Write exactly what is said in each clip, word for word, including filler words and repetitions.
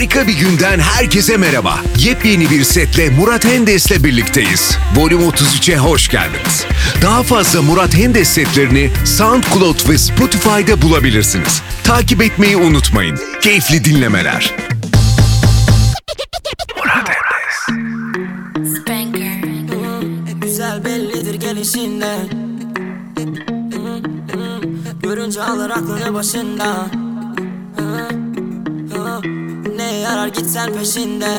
Harika bir günden herkese merhaba. Yepyeni bir setle Murat Hendes'le birlikteyiz. Volüm otuz üçe hoş geldiniz. Daha fazla Murat Hendes setlerini SoundCloud ve Spotify'da bulabilirsiniz. Takip etmeyi unutmayın. Keyifli dinlemeler. Murat Hendes. Spanker. Hep güzel bellidir gelişinden. Görünce alır aklını başında. Ne yarar gitsen peşinde.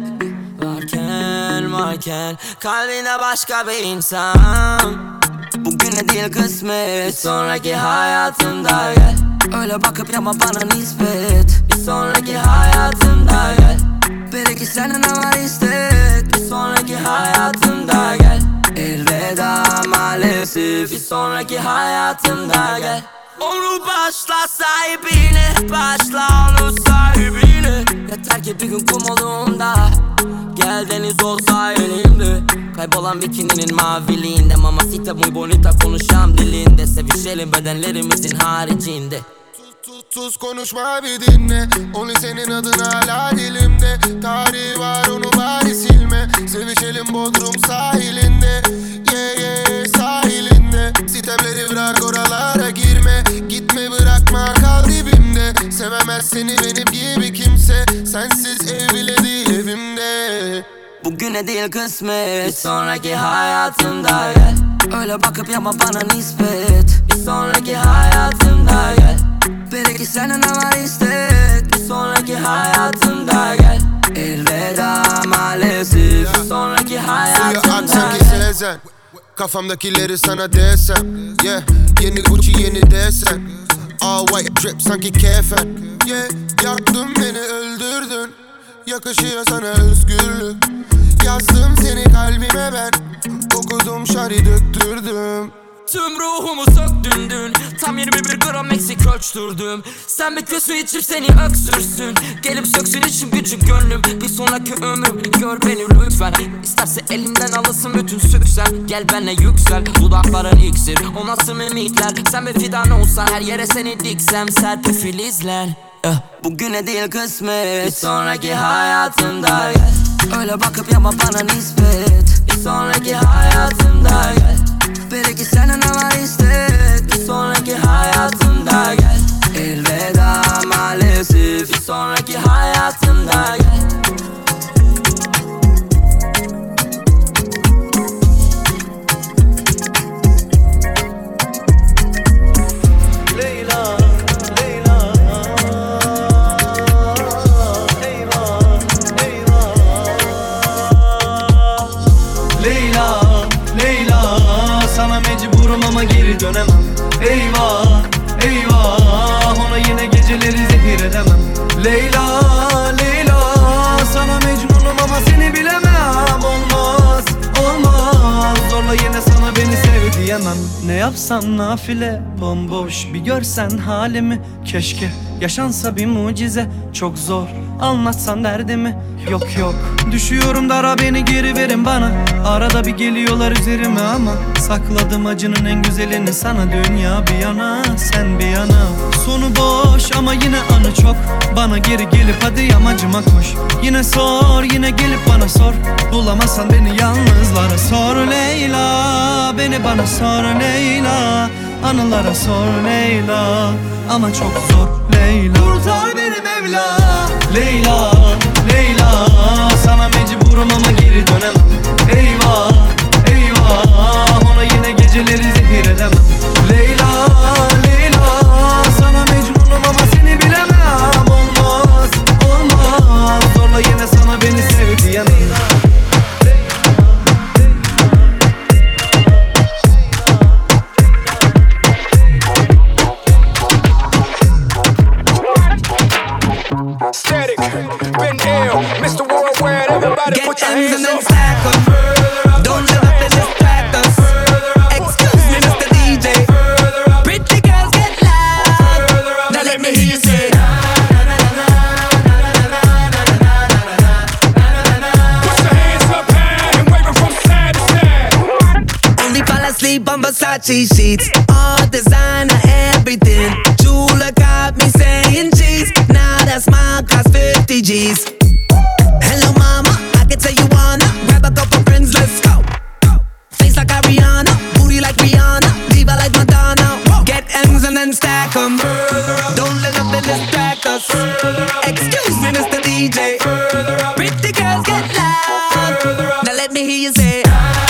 Varken varken kalbinde başka bir insan. Bugüne değil kısmet, sonraki hayatımda gel. Öyle bakıp yapma bana nispet. Bir sonraki hayatımda gel. Belki senin ama istek. Bir sonraki hayatımda gel. Elveda maalesef. Bir sonraki hayatımda gel. Onu başla sahibine, başla onu sahibine. Yeter ki bir gün kum olduğunda gel deniz olsa elimde. Kaybolan bikininin maviliğinde, mamacita muy bonita konuşan dilinde. Sevişelim bedenlerimizin haricinde. Tuz konuşma bir dinle. Only senin adın hala dilimde. Tarihi var onu bari silme. Sevişelim Bodrum sahilinde. Yeah yeah sahilinde. Sitemleri bırak oralara girme. Gitme bırakma kal dibimde. Sevemez seni benim gibi kimse. Sensiz ev bile değil evimde. Bugüne değil kısmet, bir sonraki hayatımda gel. Öyle bakıp yapma bana nispet. Bir sonraki hayatımda gel. Belki senin ama istek. Bir sonraki hayatımda gel. Elveda maalesef. Bir sonraki hayatımda gel. Sezen. Kafamdakileri sana desem. Yeah, yeni Gucci yeni desen. All white drip sanki kefen. Yeah, yaktın beni öldürdün. Yakışıyor sana özgürlük. Yazdım seni kalbime ben. Okudum şari döktürdüm. Tüm ruhumu söktün dün. Tam yirmi bir gram eksik ölçtürdüm. Sen bekliyorsun içip seni öksürsün. Gelip söksün için gücüm gönlüm. Bir sonraki ömrüm gör beni lütfen. İsterse elimden alırsın bütün süksen. Gel benle yüksel, dudakların iksir. O nasıl mimikler, sen bir fidan olsan. Her yere seni diksem serpil filizler. Bugüne değil kısmet, bir sonraki hayatımda gel. Öyle bakıp yapma bana nispet. Bir sonraki hayatımda gel. Belki senin ama istek. Bir sonraki hayatımda gel. Elveda maalesef. Bir sonraki hayatımda gel. Leyla, Leyla, eyvah, eyvah. Leyla, Leyla, sana mecburum ama geri dönemem. Eyvah, eyvah, ona yine geceleri zehir edemem. Leyla, Leyla, sana mecnunum ama seni bilemem. Olmaz, olmaz, zorla yine sana beni sev diyemem. Ne yapsam nafile, bomboş bir görsen halimi. Keşke yaşansa bir mucize, çok zor anlatsan derdimi. Yok yok, düşüyorum dara, beni geri verin bana. Arada bir geliyorlar üzerime ama sakladım acının en güzelini sana. Dünya bir yana, sen bir yana. Sonu boş ama yine anı çok. Bana geri gelip hadi yamacıma koş. Yine sor, yine gelip bana sor. Bulamazsan beni yalnızlara sor Leyla. Beni bana sor Leyla. Anılara sor Leyla. Ama çok zor Leyla. Kurtar beni Mevla. Leyla, Leyla, sana mecburum ama geri dönemem. Eyvah, eyvah, ona yine geceleri zehir edemem. Leyla, Leyla, sana mecnunum ama seni bilemem. Olmaz, olmaz, zorla yine sana beni sev diyemem. Static, been ill, Mister Worldwide, everybody Get put your ends and hands then up. stack up. Don't you let them distract us. Excuse me, Mister D J. Pretty girls get loud. Now let me hear you say. Put your hands up high and wave it from side to side. Only fall asleep on Versace sheets. All designer, everything. Jula got me saying cheese. Now that's my cost. fifty G's. Hello mama, I can tell you wanna grab a couple friends, let's go. Face like Ariana, booty like Rihanna, diva like Madonna. Get M's and then stack 'em. Don't let nothing distract us. Excuse me, Mister D J. Pretty girls get loud. Now let me hear you say.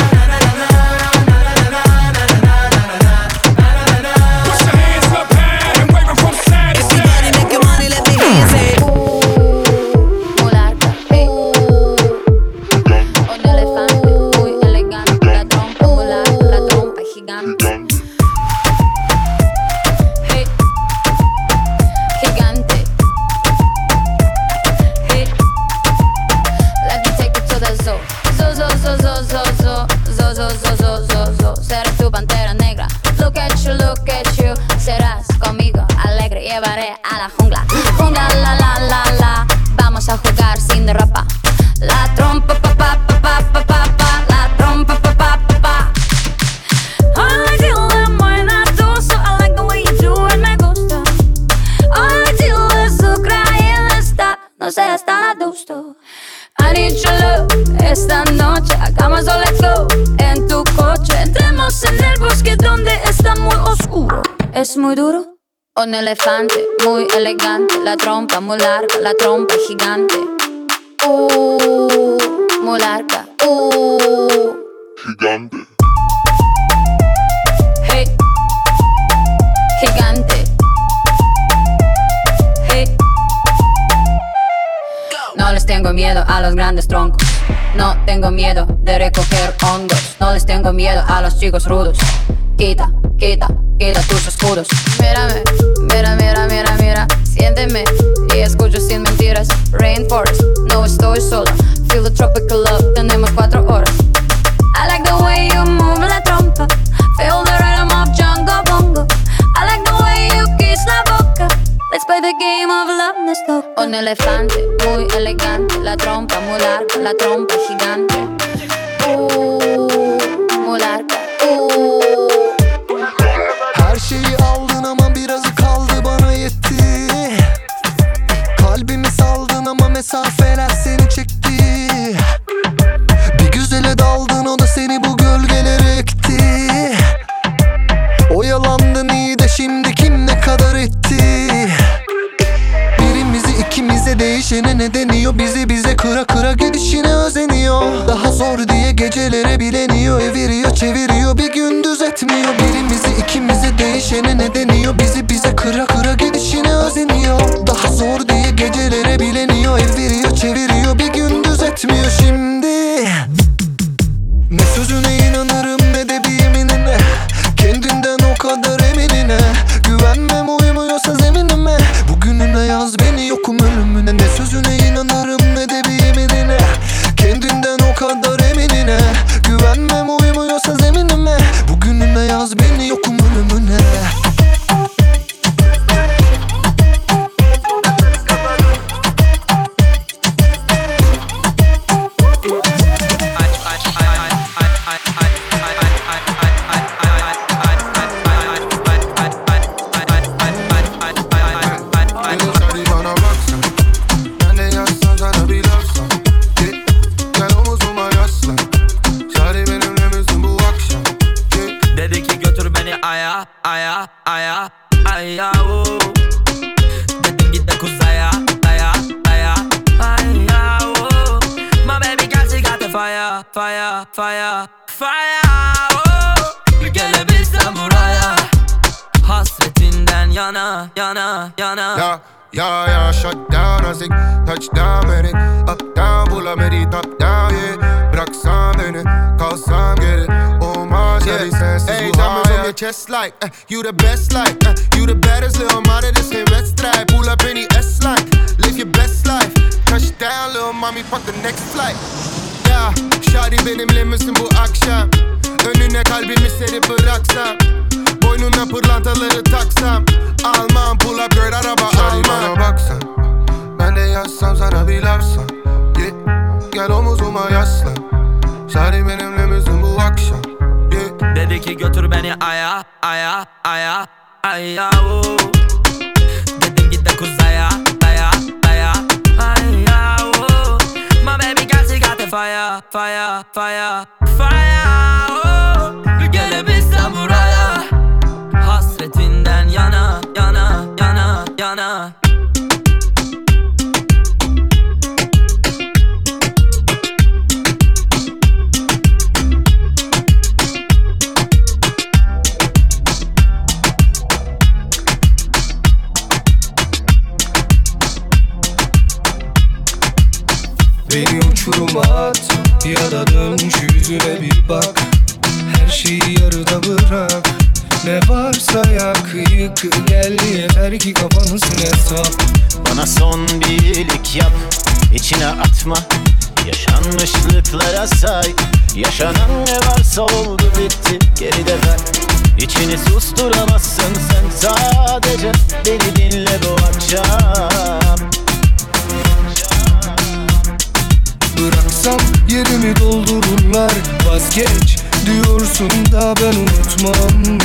Esta noche hagamos o let's go. En tu coche entremos en el bosque donde está muy oscuro. Es muy duro. Un elefante muy elegante, la trompa muy larga, la trompa gigante. Uh, muy larga. Uh, gigante. Hey, gigante. Hey. No les tengo miedo a los grandes troncos. No tengo miedo de recoger hongos. No les tengo miedo a los chicos rudos. Quita, quita, quita tus escudos. Mírame, mira, mira, mira, mira. Siénteme y escucho sin mentiras. Rainforest, no estoy sola. Feel the tropical love, tenemos cuatro horas. I like the way you move la trompa. Feel the rhythm of Jungle Bongo. I like the way you kiss la boca. Let's play the game of love, let's go. Un elefante muy elegante, la trompa muy larga, la trompa gigante. Uh, muy larga. Uh. Her şeyi aldın ama birazı kaldı bana yetti. Kalbimi saldın ama mesafeler seni çekti. Bir güzele daldın, o da seni bu gölgelere ekti. Oyalandın iyi de şimdi kim ne kadar etti? Birimizi ikimize değişene ne deniyor? Bizi bize kıra kıra gidişine özeniyor. Daha zor diye gecelere bileniyor. Eviriyor çeviriyor bir gündüz etmiyor. Birimizi ikimize değişene ne deniyor? Bizi bize kıra kıra gidişine özeniyor. Daha zor diye gecelere bileniyor. Eviriyor çeviriyor bir gündüz etmiyor şimdi. Ne sözüne inanırım ne de bir yeminine. Kendinden o kadar eminine. Güvenmem uymuyorsa zeminime. Bugününe yaz beni yokum ölümüne. Ne sözüne inanırım ne de bir yeminine. Kendinden o kadar eminine. Güvenmem uymuyorsa zeminime. Bugününe yaz beni yokum ölümüne. Aya, aya, aya, aya, oh. Dedim git de kuzaya, aya, aya, aya, oh. My baby girl she got the fire, fire, fire, fire, oh. Gelebilsem buraya, hasretinden yana, yana, yana. Yeah, yeah, yeah, shut down as ik touchdown ben ik. Up down, pull met die top down, yeah. Bıraksam beni, kalsam geri. Olmaz ya bir sensiz bu hayat. Hey, your chest like, uh, you the best like, uh, you the baddest little mama, this geen wedstrijd. Pull up in die S-line, live your best life. Touchdown little mommy, fuck the next flight. Yeah, shawty benimle misin bu akşam? Önüne kalbimi serip bıraksam. Boynuna pırlantaları taksam. Almam pull up girl araba almam. Shawty bana baksan, ben de yazsam sana bir lafsan. Yeah, gel omuzuma yaslan. Shawty benimle misin bu akşam? Yeah. Dedi ki götür beni aya, aya, aya, aya, oh. Dedim git de kuzaya, daya, daya, aya. fire, fire, fire oh. Bir gelebilsem buraya hasretinden yana, yana, yana, yana. Beni uçuruma at ya da dön şu yüzüne bir bak. Her şeyi yarıda bırak. Ne varsa yak yık gel yeter ki kafanı süre sap. Bana son bir iyilik yap, içine atma. Yaşanmışlıklara say. Yaşanan ne varsa oldu bitti, geride ver. İçini susturamazsın sen, sadece beni dinle bu akşam. Bıraksam yerimi doldururlar. Vazgeç diyorsun da ben unutmam.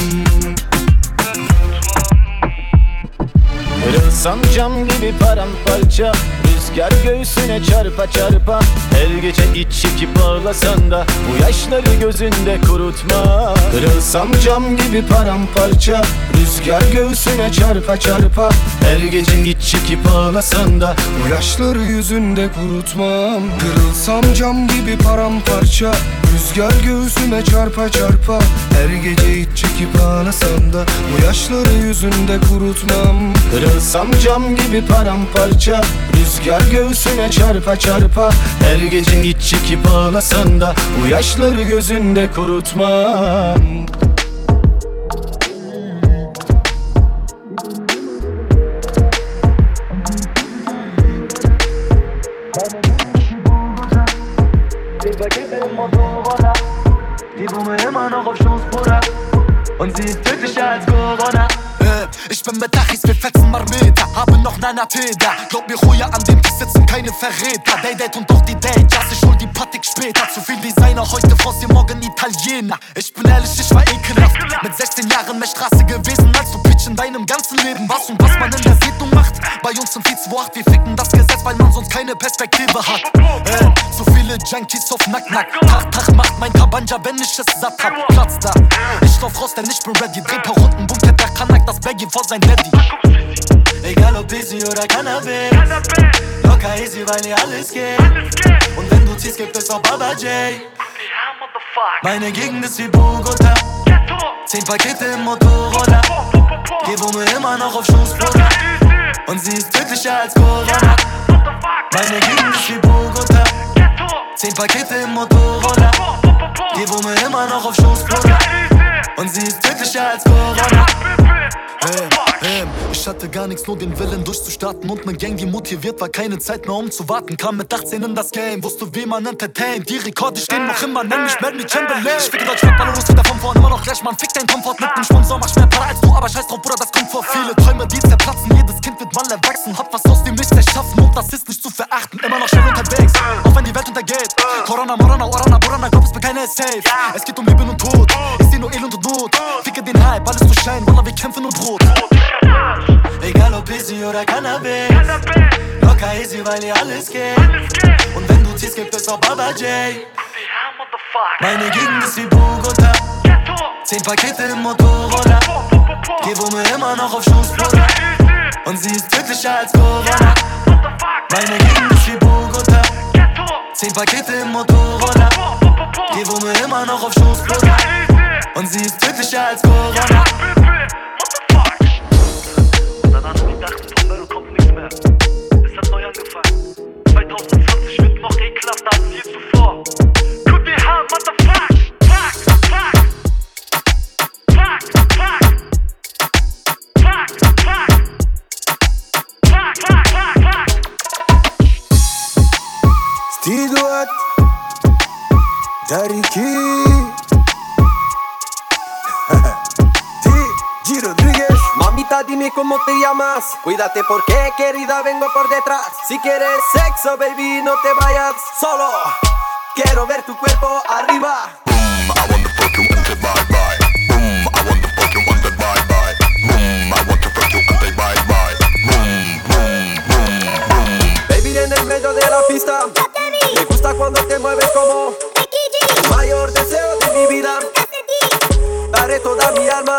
Kırılsam cam gibi paramparça, rüzgar göğsüne çarpa çarpa. Her gece iç çekip ağlasan da bu yaşları gözünde kurutma. Kırılsam cam gibi paramparça, rüzgar göğsüne çarpa çarpa. Her gece iç çekip ağlasan da Bu yaşları yüzünde kurutmam. Kırılsam cam gibi paramparça, rüzgar göğsüme çarpa çarpa. Her gece iç çekip ağlasam da bu yaşları yüzünde kurutmam. Kırılsam cam gibi paramparça, rüzgar göğsüne çarpa çarpa. Her gece iç çekip ağlasan da bu yaşları gözünde kurutmam. Und sie ist tödlicher als Corona. Ich bin mit Achis, wir fetzen Marmeter, haben noch Nana Feder. Glaub mir, Ruhe an dem Tisch sitzen keine Verräter. Day Date und doch die Date, ja, ich hol die Patik später. Zu viel Designer, heute Franzi, morgen Italiener. Ich bin ehrlich, ich war ekelhaft. Mit sechzehn Jahren mehr Straße gewesen, als du Pitch in deinem ganzen Leben. Was und was man in der Siedlung macht. Bei uns im Vieh zwei acht, wir ficken das Gesetz, weil man sonst keine Perspektive hat. Äh, so viele Junkies auf Nack-Nack. Tag, Tag macht mein Kabanja, wenn ich es satt hab. Platz da. Ich lauf raus, denn ich bin ready. Dreh paar Runden, Bunker, der Kanak, das Baggy vor sein Daddy. Egal ob Easy oder Cannabis, locker easy, weil hier alles geht. Und wenn du ziehst, gibt es auch Baba J. Meine Gegend ist wie Bogota, zehn Pakete im Motorroller. Geh wo mir immer noch auf Schoß, Bruder. Und sie ist tödlicher als Corona. Meine Gegend ist wie Bogota, zehn Pakete im Motorroller. Geh wo mir immer noch auf Schoß, Bruder. Und sie ist tödlicher als Corona. Ähm, ähm, ich hatte gar nichts, nur den Willen durchzustarten. Und ne Gang, die motiviert war, keine Zeit mehr um zu warten. Kam mit achtzehn in das Game, wusste wie man entertaint. Die Rekorde stehen noch immer, nenn mich Melody Chamberlain. Ich ficke Deutsch, alle los wieder von vorn, immer noch gleich, man fick dein Komfort mit nem Sponsor. Mach mehr Para als du, aber scheiß drauf, Bruder, das kommt vor. Viele Träume, die zerplatzen, jedes Kind wird mal erwachsen. Hab was aus dem Nichts erschaffen und das ist nicht zu verachten. Immer noch schnell unterwegs, auch wenn die Welt untergeht. Corona, Morana, Orana, Borana, glaub es mir keiner ist safe. Es geht um Leben und Tod, ich seh nur Elend und Not. Ficke den Hype, alles zu Schein, Wallah, wir kämpfen um Brot. Egal ob Easy oder Cannabis, locker easy, weil hier alles geht. Und wenn du ziehst, gibt es auch Baba J. Meine Gegend ist wie Bogota, zehn Pakete im Motorroller. Geh wo mir immer noch auf Schoß, Bruder. Und sie ist tödlicher als Corona. Meine Gegend ist wie Bogota, zehn Pakete im Motorroller. Geh wo mir immer noch auf Schoß, Bruder. Und sie ist tödlicher als Corona. zwanzig zwanzig wird noch ekelhafter als je zuvor. Q D H, motherfuck, fuck, fuck, fuck, fuck, fuck, fuck, fuck, fuck, fuck, fuck. Steve Duat, Daddy Key, T G Rodríguez. Mamita, dime cómo te llamas. Cuídate porque, querida, vengo por detrás. Si quieres sexo, baby, no te vayas solo. Quiero ver tu cuerpo arriba. Boom, I want to fuck you and say bye bye. Boom, I want to fuck you and say bye bye. Boom, I want to fuck you and say bye bye. Boom, boom, boom, boom. Baby, en el medio de la pista. Me gusta cuando te mueves como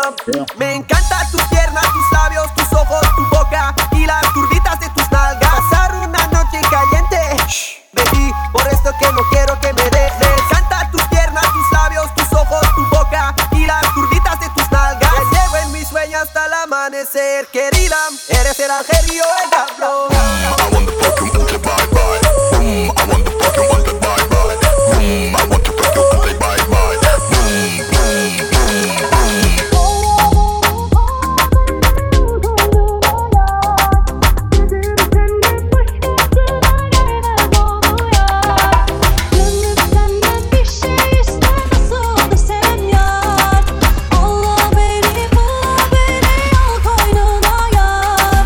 querían. Me encanta tus piernas, tus labios, tus ojos, tu boca y las curvitas de tus nalgas. Pasar una noche caliente, shh, baby, por esto que no quiero que me dejes. Me encanta tus piernas, tus labios, tus ojos, tu boca y las curvitas de tus nalgas. Te llevo en mis sueños hasta el amanecer, querida, eres el ángel y yo el diablo. I want the fuck you until bye bye. Boom, I want the fuck you until bye bye. Boom, I want to fuck you until bye bye. Boom, boom, boom, boom. Gönlüm senden bir şey ister, nasıl desem yar. Allah beni, bul beni, al koynuna yar.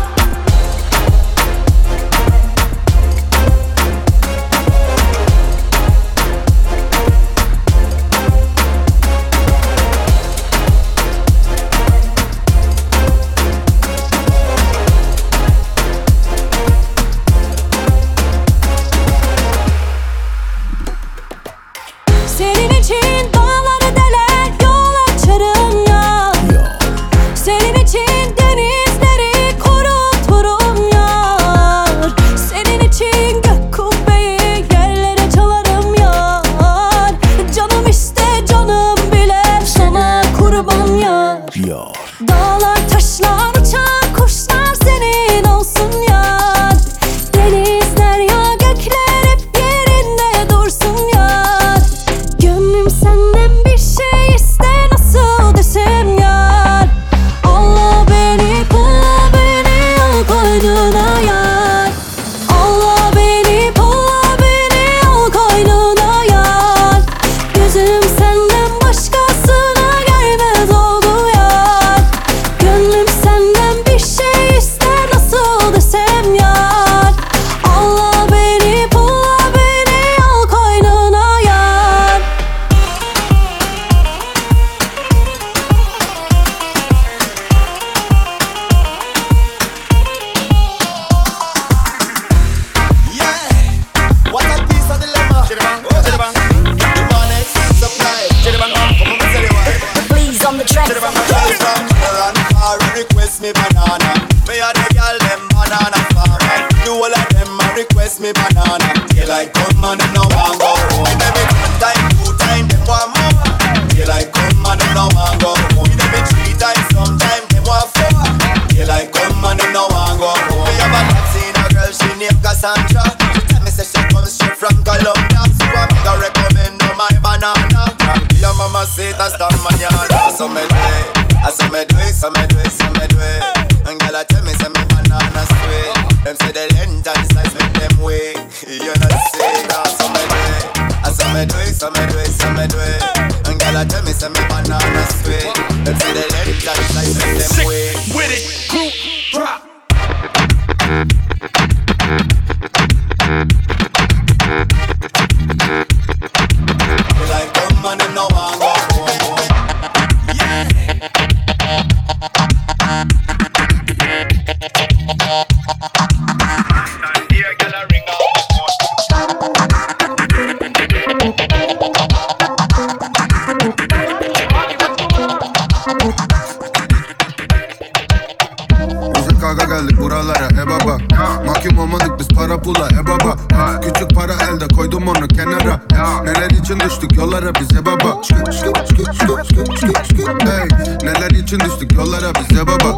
Senin için dağları deler, yol açarım ya. Senin için denizleri kuruturum yar. Senin için gök kubbeyi yerlere çalarım yar. Canım iste canım bile sana kurban yar. Dağlar taşlar uçar kuşlar senin olsun yar. Denizler ya gökler hep yerinde dursun yar. Gönlüm senden bir şey ister, nasıl desem yar. Allah beni, bul beni, al koynuna yar. Allah beni, bul beni, al koynuna yar. Gözüm senden başkasına gelmez oldu yar. Gönlüm senden bir şey ister, nasıl desem yar. Allah beni, bul beni, al koynuna yar. What a piece of dilemma. The money supply. Please on the track. Run far and request me banana. Me and the girl them banana farmer. The whole of them a request me banana. Daylight come and them no want go home. Every one time, two time, them want more. Daylight come and them no want go home. Every three times, sometime them want four. Daylight come and them no want go home. Me have a Latina girl, she named Cassandra. She tell me say she comes straight from Colombia. So I'm gonna recommend her my banana. From your mama say that's the manana. So me do it, I so me do it, so me do it, so me do it. And girl I tell me say me banana sweet. Them say the length and size make them weak. You know say that, so me do it, I so me do it, so me do it, so me do it. And girl I tell me say me banana sweet. Them say the length and size make them weak. With it, group drop. Like come and them no want go home. Bize kavga geldik buralara e baba. Mahkum olmadık biz para pula e baba. Küçük para elde koydum onu kenara. Neler için düştük yollara bize baba. Hey, neler için düştük yollara bize baba.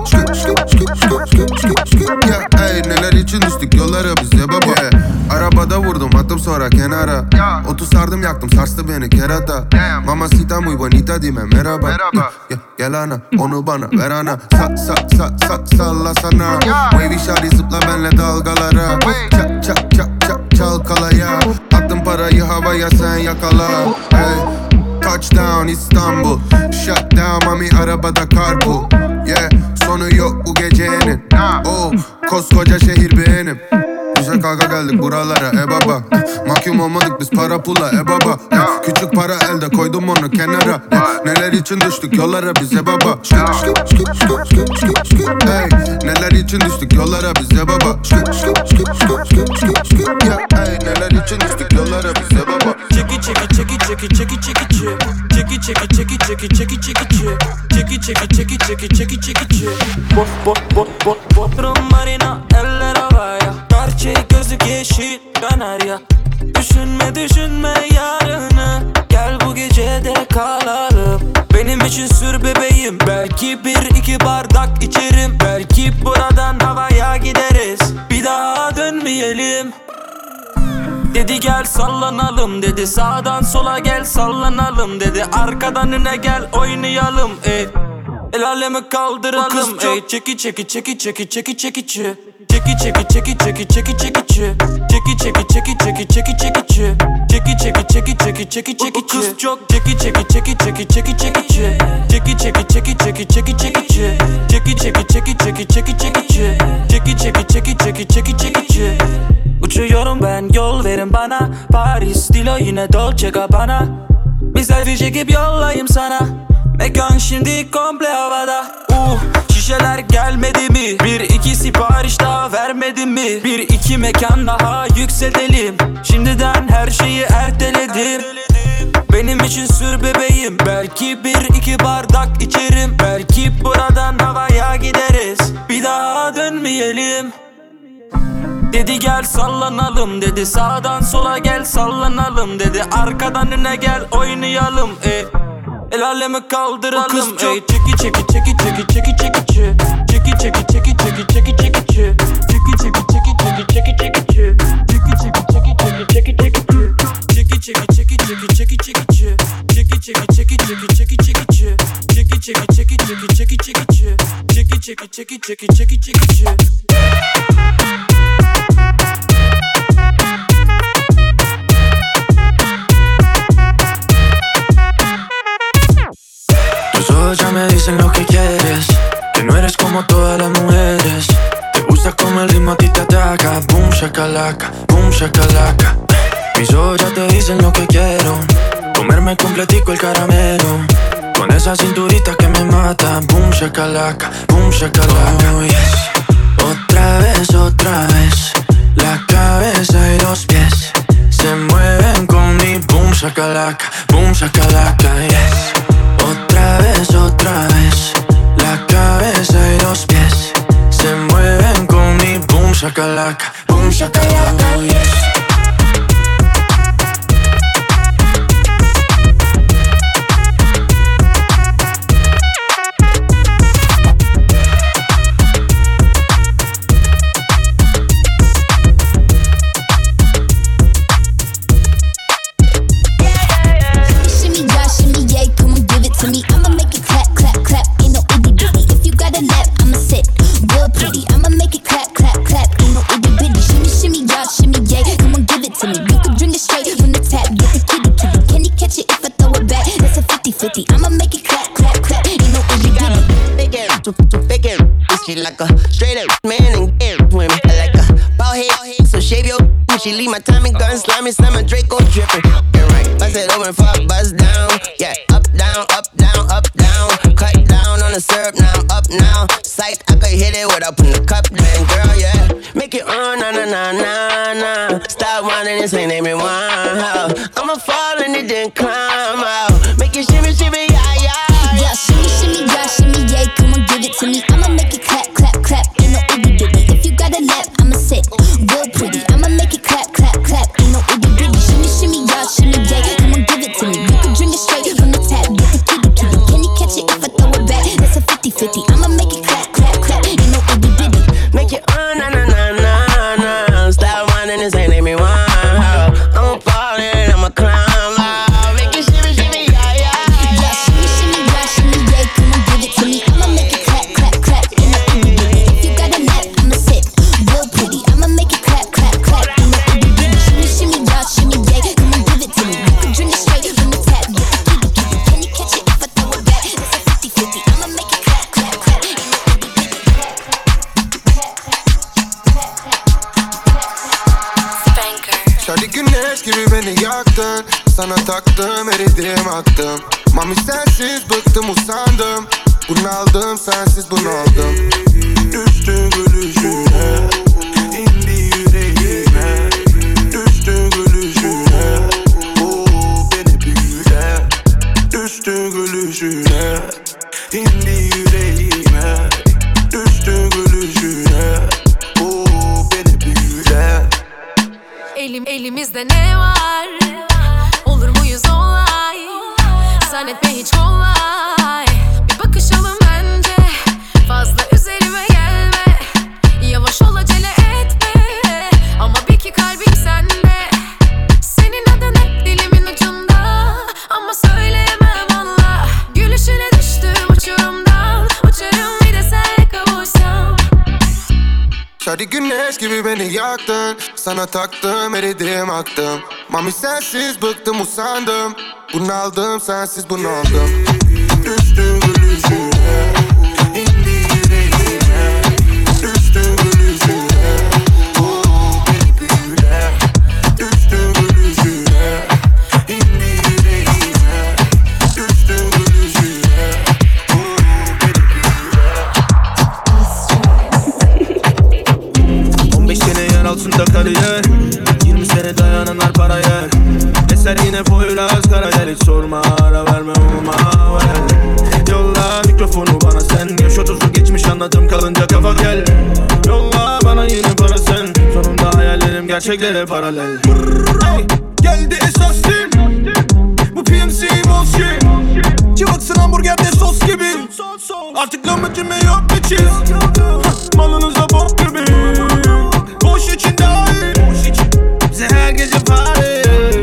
Hey, neler için düştük yollara bize baba. Arabada vurdum attım sonra kenara. Otu sardım yaktım sarstı beni kerata. Mamacita muy bonita dime merhaba. Gel ana onu bana ver ana. Sa sa sa sa salla sana. Wavy shawty zıpla benle dalgalara. Çak çak çak çak çalkalaya. Attım parayı havaya sen yakala. Hey, touchdown İstanbul. Shut down mami arabada carpool. Yeah, sonu yok bu gecenin. Oh, koskoca şehir benim. Bize kavga geldik buralara e baba. Mahkum olmadık biz para pula e baba. Küçük para elde koydum onu kenara. Neler için düştük yollara bize baba. Hey, neler için düştük yollara bize baba. Hey, neler için düştük yollara bize baba. Çeki çeki çeki çeki çeki çeki çeki Çeki çeki çeki çeki çeki çekici. Çeki çeki çeki çeki çeki çekici. Bot bot bot bot Bodrum marina eller havaya. Gerçeği gözlük yeşil kanarya. Düşünme düşünme yarını. Gel bu gecede kalalım. Benim için sür bebeğim. Belki bir iki bardak içerim. Belki buradan havaya gideriz. Bir daha dönmeyelim. Dedi gel sallanalım dedi. Sağdan sola gel sallanalım dedi. Arkadan öne gel oynayalım ey. El alemi kaldıralım ey. Çeki çeki çeki çeki çeki çekici. Çeki çeki çeki çeki çeki çekici. Çeki çeki çeki çeki çeki çekici. Çeki çeki çeki çeki çeki çekici. Kız çok çeki çeki çeki çeki çeki çekici. Çeki çeki çeki çeki çeki çekici. Çeki çeki çeki çeki çeki çekici. Çeki çeki çeki çeki çeki çekici. Uçuyorum ben yol verin bana. Paris Dilo yine Dolce Gabbana. Bir selfie çekip yollayayım sana. Mekan şimdi komple havada. Uh, şişeler gelmedi mi? Bir iki sipariş daha vermedin mi? Bir iki mekan daha yükseltelim. Şimdiden her şeyi erteledim. Benim için sür bebeğim. Belki bir iki bardak içerim. Belki buradan havaya gideriz. Bir daha dönmeyelim. Dedi gel sallanalım dedi. Sağdan sola gel sallanalım dedi. Arkadan öne gel oynayalım ey. El alemi kaldıralım ey. Çeki çeki çeki çeki çeki çekici. Çeki çeki çeki çeki çeki çekici. Çeki çeki çeki çeki çeki çekici. Çeki çeki çeki çeki çeki çekici. Çeki çeki çeki çeki çeki çekici. Çeki çeki çeki çeki çeki çekici. Çeki çeki çeki çeki çeki çekici. Çeki çeki çeki çeki çeki çekici. Tus ojos ya me dicen lo que quieres, que no eres como todas las mujeres. Te gusta como el ritmo a ti te ataca. Boom shakalaka, boom shakalaka. Mis ojos ya te dicen lo que quiero, comerme completico el caramelo. Con esa cinturita que me mata. Boom shakalaka, boom shakalaka. Oh yes. Otra vez, otra vez. La cabeza y los pies se mueven con mi boom shakalaka, boom shakalaka, yes. Otra vez, otra vez. La cabeza y los pies se mueven con mi boom shakalaka, boom shakalaka, oh yes. To me, I'ma make it clap, clap, clap. Ain't no itty bitty. If you got a lap, I'ma sit real pretty. I'ma make it clap, clap, clap. Ain't no itty bitty. Shimmy, shimmy, y'all, shimmy, yeah. Come on, give it to me. You can drink it straight from the tap. Get the kitty, kitty. Can he catch it if I throw it back? That's a fifty fifty. I'ma make it clap, clap, clap. Ain't no itty bitty. Big ass, too, too big ass. She like a straight up man and get with me. I like a bald head, so shave your. She leave my Tommy gun slimy, slam a Draco drippin'. Yeah, right. Bust it open, fuck, bust down. Yeah, up, down, up, down, up, down. Cut down on the syrup, now I'm up now. Sight, I could hit it without putting the cup down, girl, yeah. Make it on, na na na na na. Stop whining, this ain't everyone. I'ma fall and it didn't climb out. Make it shimmy, shimmy, yeah, yeah. Yeah, shimmy, shimmy, yeah, shimmy, yeah. Come on, give it to me. I'ma make it clap, clap, clap. Ain't no itty bitty. If you got a lap, I'ma sit real pretty. I'ma make it clap, clap, clap. Ain't no itty bitty. Shimmy, shimmy, yeah, shimmy, yeah. Come on, give it to me. You can drink it straight from the tap. Get the kitty, kitty. Can he catch it if I throw it back? That's a fifty fifty. I'ma make it clap, clap, clap. Ain't no itty bitty. Make it on, na na na na na. Stop whining, this ain't everyone. I'ma fall in, I'ma climb out. Make it shimmy, shimmy, yeah, yeah. Yeah, shimmy, shimmy, yeah, shimmy, yeah. Come on, give it to me. I'ma make it clap, clap, clap. Ain't no itty bitty. If you got a lap, I'ma sit real pretty. I'ma make it clap, clap, clap. Ain't no itty bitty. Shimmy, shimmy, yeah, shimmy, yeah. Come on, give it to me. You can drink it straight from the tap. Get the kitty, kitty. Can you catch it if I throw it back? That's a fifty fifty. I'ma make it clap, clap, clap. Ain't no itty bitty. Şadi güneş gibi beni yaktın. Sana taktım, eridim aktım. Mami sensiz bıktım usandım. Bunaldım sensiz bunaldım. Düştü gülüşüne, indi yüreğime. Düştü gülüşüne, ooo beni büyüle. Düştü Elim, elimizde ne var? Olur muyuz olay? Zannetme hiç kolay. Bir bakışalım bence. Fazla üzerime gelme. Yavaş ol acele etme. Ama bil ki kalbim sende. Senin adın hep dilimin ucunda. Ama söyleyemem valla. Gülüşüne düştüm uçurumdan. Uçarım bir de senle kavuşsam. Şadi güneş gibi beni yaktın. Sana taktım, eridim, aktım. Mami sensiz bıktım, usandım. Bunaldım, sensiz bunaldım. Düştü gülüşüne, indi yüreğime. Düştü gülüşüne, oh baby güle. Düştü gülüşüne, indi yüreğime. Düştü gülüşüne, oh baby güle. on beş sene yer altında kariyer, yirmi sene dayananlar para yer. Eser yine Poyraz Karayel, hiç sorma, ara verme olma ver. Yolla mikrofonu bana sen, yaş otuzu geçmiş anladım kalınca kafa gel. Yolla bana yine para sen, sonunda hayallerim gerçeklere paralel. Hey, geldi esas tim, bu P M C bullshit. Çıvaksın hamburgerde sos gibi, artık lahmacun yok bir çiz. Malınıza bok gibi, boş için dahil. Bize her gece party.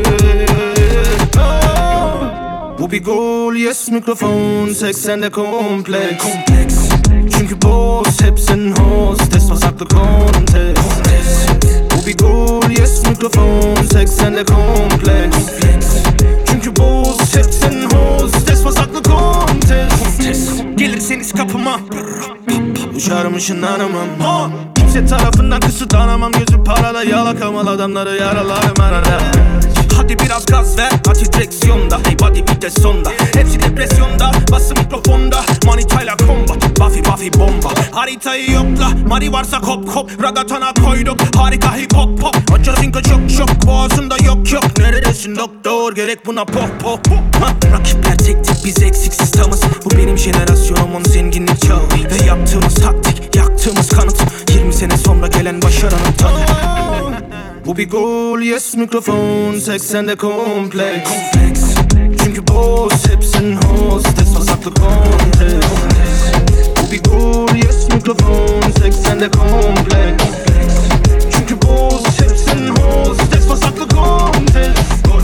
Bu bir gol, yes mikrofon, seksende kompleks. kompleks Çünkü boss, hep senin hostes, pasaklı kontes. Bu bir gol, yes mikrofon, seksende kompleks. kompleks Çünkü boss, hep senin hostes, pasaklı kontes. Gelirseniz kapıma, uçarım ışınlanamam. Kimse tarafından kısıtlanamam, gözü parada, yalakamal adamları yaralarım arada. Hadi biraz gaz ver, hadi direksiyonda. Hey body vites sonda, hepsi depresyonda. Bası mikrofonda, manitayla combat. Buffy Buffy bomba, haritayı yokla. Mari varsa kop kop, ragatana koyduk. Harika hip hop pop, açasınka çok çok. Boğazında yok yok, neredesin doktor? Gerek buna pop pop ha. Rakipler tek tek, biz eksiksiz tamız. Bu benim jenerasyonum, onun zenginlik çağı. Ve yaptığımız taktik, yaktığımız kanıt. Yirmi sene sonra gelen başaranın tadı. Bu bir gol, yes mikrofon, seksende kompleks. kompleks Çünkü boss, hep senin hostes, pasaklı kontes. Bu bir gol, yes mikrofon, seksende kompleks. Çünkü boss, hep senin hostes, pasaklı kontes.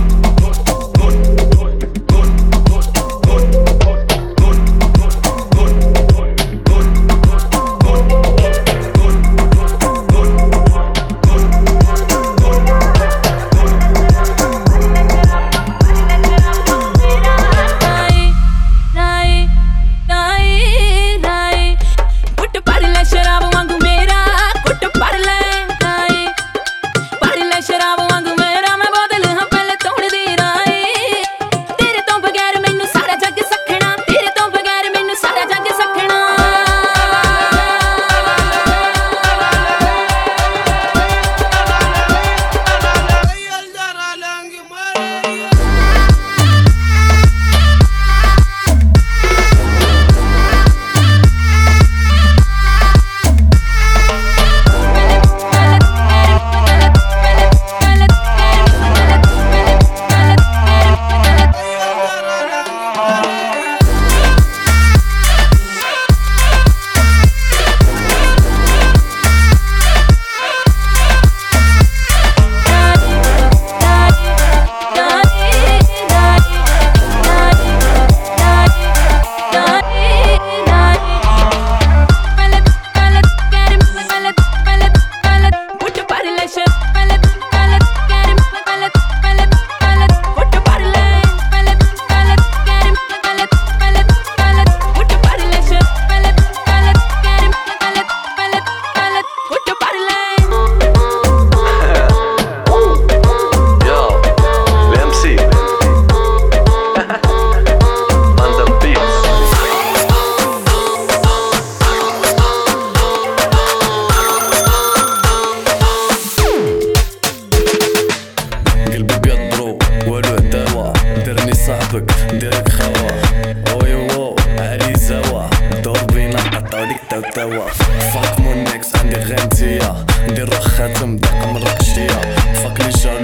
توا فاك مون اكس عندي غير انتيا ندير خاتم دقة من ركشتيا فاك لي جالو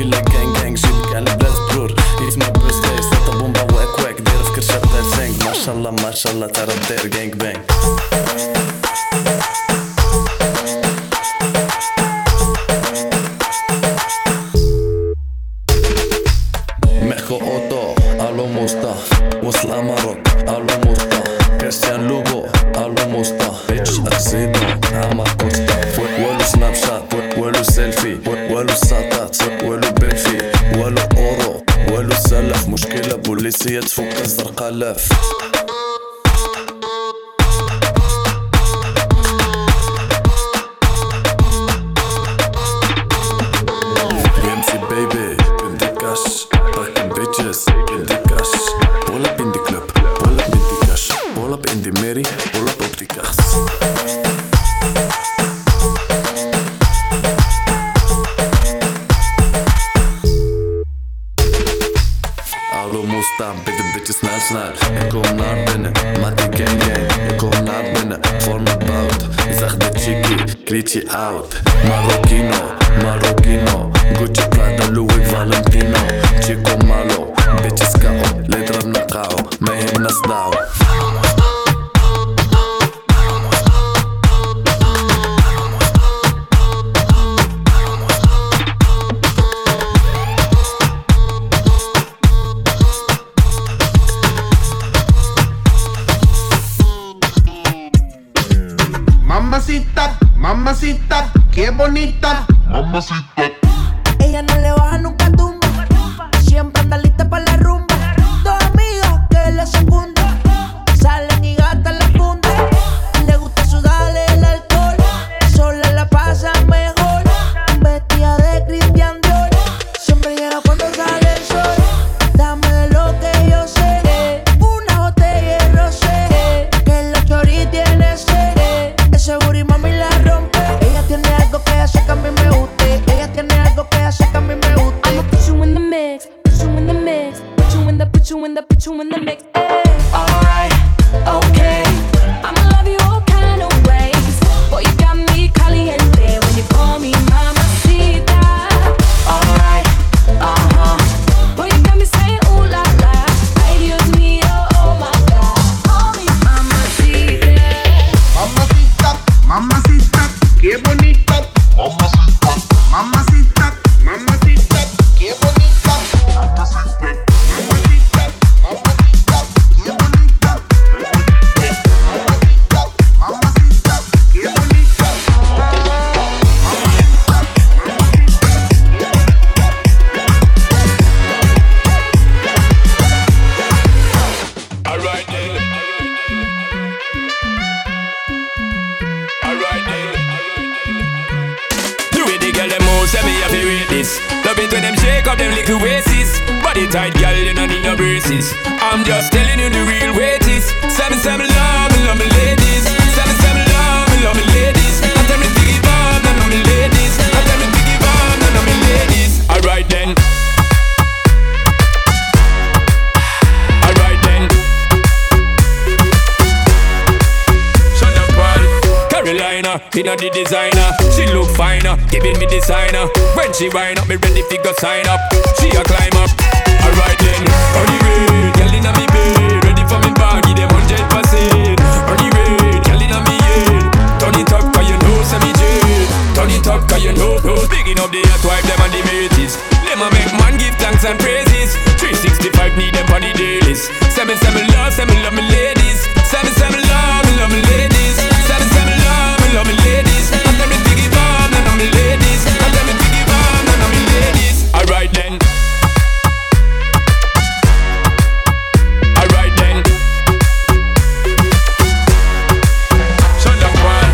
ليلة gang gang جيبك على بلاد برور It's my birthday ساتا بومبا واك واك داير في كرشة بتاع سانك ما شاء الله ما شاء الله ترى داير gang bang Mejo Otto, alo Mustafa وصل أمارك alo Mustafa كريستيان لوغو alo Mustafa بيتش أكسيدو عما كوستا ولو سناب شات ولو سيلفي ولو ساطات ولو بيلفي ولو أورو ولو سلف مشكلة بوليسية تفك الزرقاء لاف Ramsey baby, بدي كاش Fucking bitches, بدي كاش Pull up in the club, pull up in the cash Pull up in the Mary, pull up op die kaas Alo Musta, bitte bitte snel snel Ik kom naar binnen, met die gang gang Ik kom naar binnen, voor me bout Zeg de chickie, kleed je out Marokino, Marokino Gucci Prada, Louis Valentino Chico malo, bitches K O Letra na K O, mij hem na stouw Mamacita, mamacita, qué bonita. Mamacita. Ella no le baja nunca tumba. Siempre anda lista para la rumba. Dos amigas que la secundan. Salen y gastan la funda. Le gusta sudarle el alcohol. Sola la pasa mejor. Vestida de Christian Dior. Siempre llega cuando sale el sol. Dame de lo que yo sé. Una botella de rosé. Que la chori tiene sed. Ese booty mami la rompe. Ella tiene algo que hace que a mí me guste. Ella tiene algo que hace que a mí me guste. I'ma put you in the mix, put you in the mix, put you in the, put you in the, put you in the mix. Ay. Alright, okay. I'ma love you all kind of ways. Boy, you got me caliente when you call me mamacita. Alright, uh huh. Boy, you got me saying ooh la la. Ay Dios mío, oh my God. Call me mamacita. Mamacita, mamacita, qué bonita. Mamacita, mamacita, mamacita, qué bonita. Mamacita, mamacita, mamacita, qué bonita. Mamacita, mamacita, qué bonita. Alright then. Alright then. The way the girl them move, say me have to rate this. Love it when them shake up them little waists. Body tight, girl, you don't need no braces. I'm just telling you the real way it is. Say me, say me love me, love me ladies. Say me, say me love me, love me ladies. I tell me to give up, no, no, me ladies. I tell me to give up, no, no, me ladies. Alright then. Alright then. Shut up, boy. Carolina, inna the designer. She look finer, giving me designer. When she wind up, me ready fi go sign up. She a climb up. Alright then. On the way, girl inna me bed, ready for me body, them hundred percent. On the way, girl inna me head. Turn it up 'cause you know say me jet. Turn it up 'cause you know. Picking up the hot wife, them and the mateys. Them a make man give thanks and praises. three sixty-five need them on the dailies. Say me, say me love, say me love me ladies. Say me, say me love, me love me ladies. Say me, say me love, me love me ladies. I tell me to give up, none of me ladies. I tell me to give up, none of me ladies. Alright then. Alright then. Shut up, boy.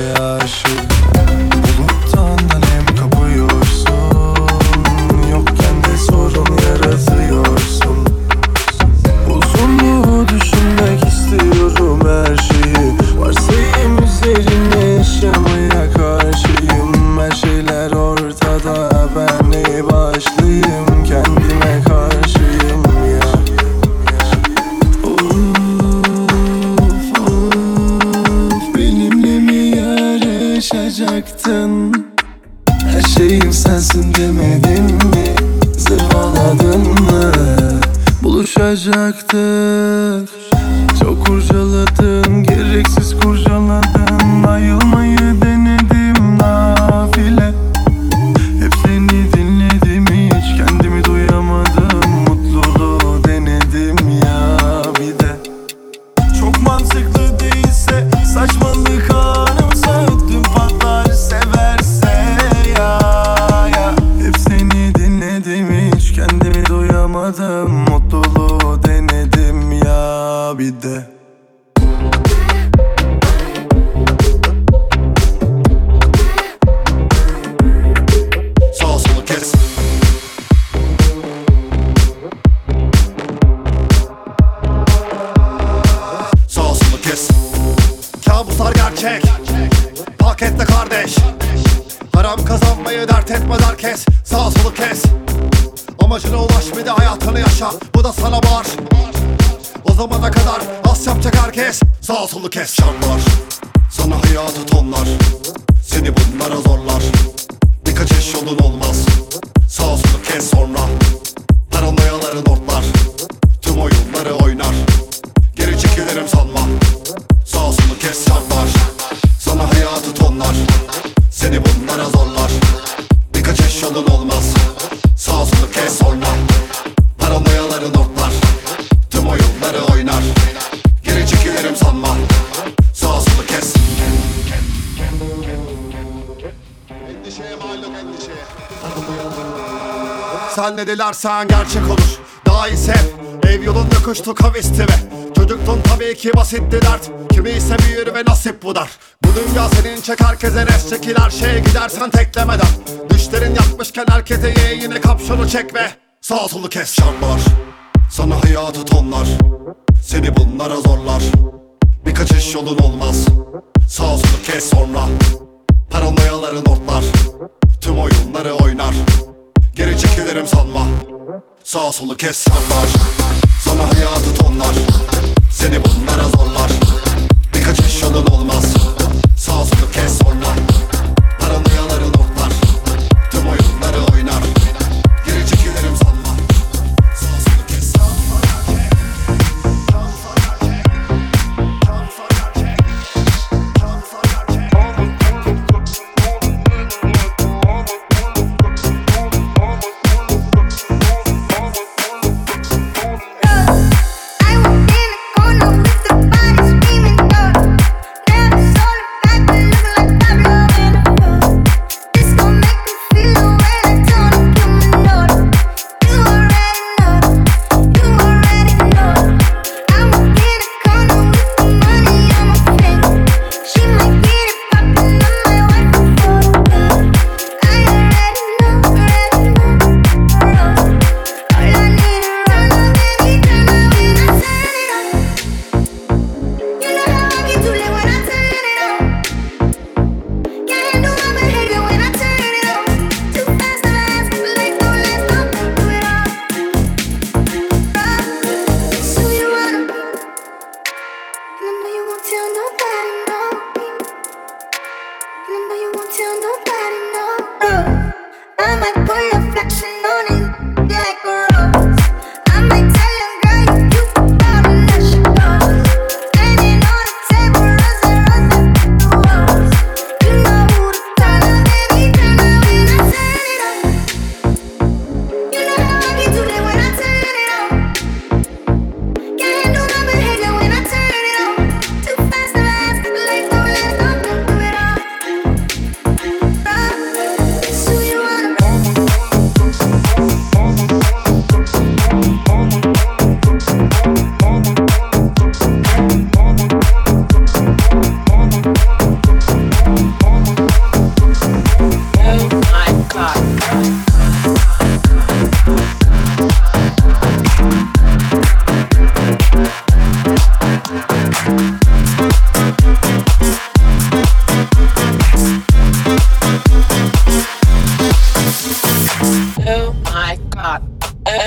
aşık. Buluttan nem kapıyorsun, yokken de sorun yaratıyorsun. Uzun mu düşünmek istiyorum her şeyi, varsayım üzerine yaşamaya karşıyım. Her şeyler ortada, ben ne başlıyım, kendime karşıyım ya. Of of, benimle mi yarışacaktın? Her şeyim sensin demedin mi? Zırvaladın mı? Buluşacaktık. Çok kurcaladın, gereksiz kurcaladın. Ayılmayı denedim nafile. Hep seni dinledim, hiç kendimi duyamadım. Mutluluğu denedim ya bir de. Çok mantıklı değilse saçmalık anımsa ödüm patlar severse ya, ya. Hep seni dinledim, hiç kendimi duyamadım. Mutluluğu denedim ya bir de. Sağ solu kes. Sağ solu kes. Kabuslar gerçek, pakette kardeş. Haram kazanmayı dert etme herkes. Sağ solu kes. Amacına ulaş, bir de hayatını yaşa. Bu da sana var. O zamana kadar az yapacak herkes. Sağ solu kes. Şartlar sana hayatı tonlar, seni bunlara zorlar. Bir kaçış yolun olmaz. Sağ solu kes sonra. Paranoyaların ortlar, tüm oyunları oynar. Geri çekilirim sanma. Sağ solu kes. Şartlar sana hayatı tonlar, seni bunlara zorlar. Bir kaçış yolun olmaz. Sağ solu kes sonra. Paranoyaların ortlar, tüm oyunları oynar. Geri çekilirim sanma. Sağ solu kes. Endişeye mal yok, endişeye. Sen ne dilersen gerçek olur. Daha iyi sev. Ev yolunda kuştu kavisti ve çocuktun tabii ki basitti dert. Kimi ise büyür ve nasip bu dar. Bu dünya senin, çek herkese res, çekil her şeye gidersen teklemeden. Düşlerin yakmışken herkese ye, yine kapşonu çek ve sağ solu kes. Şartlar sana hayatı tonlar, seni bunlara zorlar. Bir kaçış yolun olmaz. Sağ solu kes sonra. Paranoyaların ortlar, tüm oyunları oynar. Geri çekilirim sanma. Sağ solu kes. Şartlar sana hayatı tonlar, seni bunlara zorlar. Bir kaçış yolun olmaz. Sağ solu kes sonra. Paranoyaların ortlar, tüm oyunları oynar. Geri çekilirim sanma. Sağ solu kes.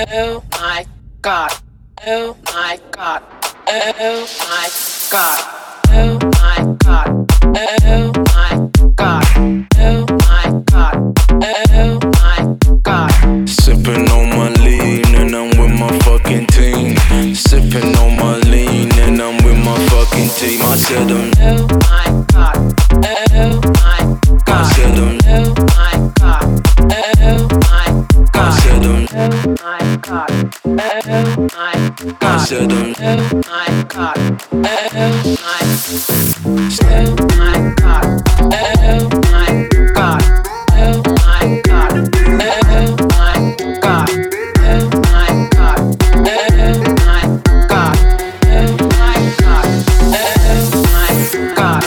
Oh my God. Oh my God. Oh my God. Oh my God. Oh my God. Oh my God. Oh my God. Sipping on my lean and I'm with my fucking team. Sipping on my lean and I'm with my fucking team. I said them. Oh my God. Oh my God. I said them. Oh my God. Oh my God. I said them. Oh my God. Oh my God. I said them. Oh my God. Oh my Oh my God. Oh my God. Oh my God. Oh my God. Oh my God. Oh my God. Oh my God. Oh my God.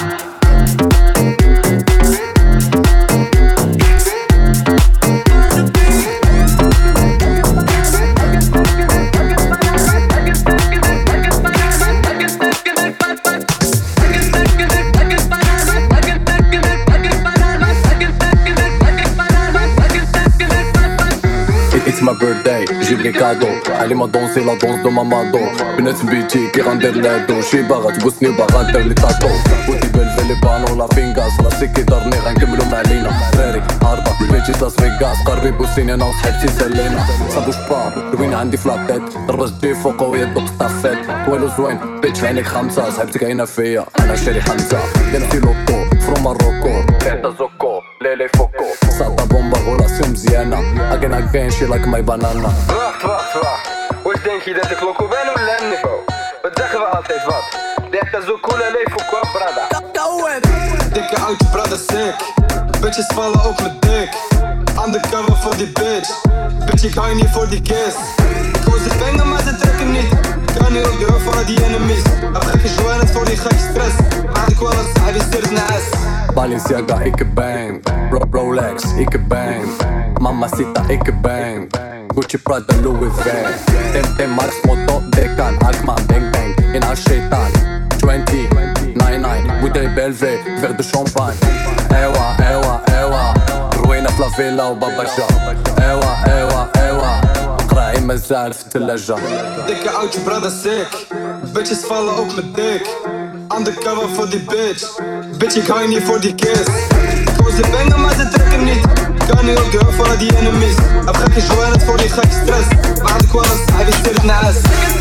It's my birthday, j'ai les cadeaux. Elle m'a dansé la danse de Mamado. بنات بيتي كي غندير لادو. شي باغا تبوسني باغا دير لي تاتو. ودي بالفيلي بانو لا فينغاس. راسي كي دارني غنكملو مع لينا. دراري هاربا بيتي لاس فيغاس. قربي بوسيني انا وصحبتي سالينا. صابوش با روين عندي فلاطيت. ضربة جي فوق ويا دوق طافيت. طويل وزوين بيت في عينيك خمسة. صاحبتي كاينة فيا أنا شاري حمزة. درتي لوطو فرو ماروكو. تحت زوكو ليلي فوكو. ساطا بومبا غولاسيون مزيانة. أكين أكين شي لايك ماي بانانا. Wacht, wacht, wacht. Hoe denk je dat ik loco ben of niveau? Wat zeggen we altijd wat? Dit is zo cool en leven qua brada. Dikke oudje brada sick. Bitches vallen op mijn dik. Undercover voor die bitch. Bitch ik hou niet voor die kiss. Ik hoor ze pengen maar ze trekken niet. Kan niet op de rug van die enemies. Heb gekke joints voor die gekke stress. Maar ik wil een sahibi stirs naast. Balenciaga, ik bang. Ro Rolex, ik bang. Mamacita, ik bang. Gucci, Prada, Louis Vuitton. Tem tem Mars, Moto, Decan, Akman, Bang Bang. In haar shaitan. Twenty, nine nine. Bouteille Belvé, verre de champagne. Ewa, ewa, ewa. روينا في لافيلا وباباجا. Ewa, ewa, ewa. قراعي مازال في الثلاجة. Dikke oudje brada sick. Bitches vallen op mijn dik. Undercover voor die bitch. Bitch ik hou niet voor die kiss. Ik hoor ze pengen maar ze trekken niet. Kan niet op de rug van die enemies. Heb gekke joints voor die gekke stress. Maar ik wil een sahibi stirs naast.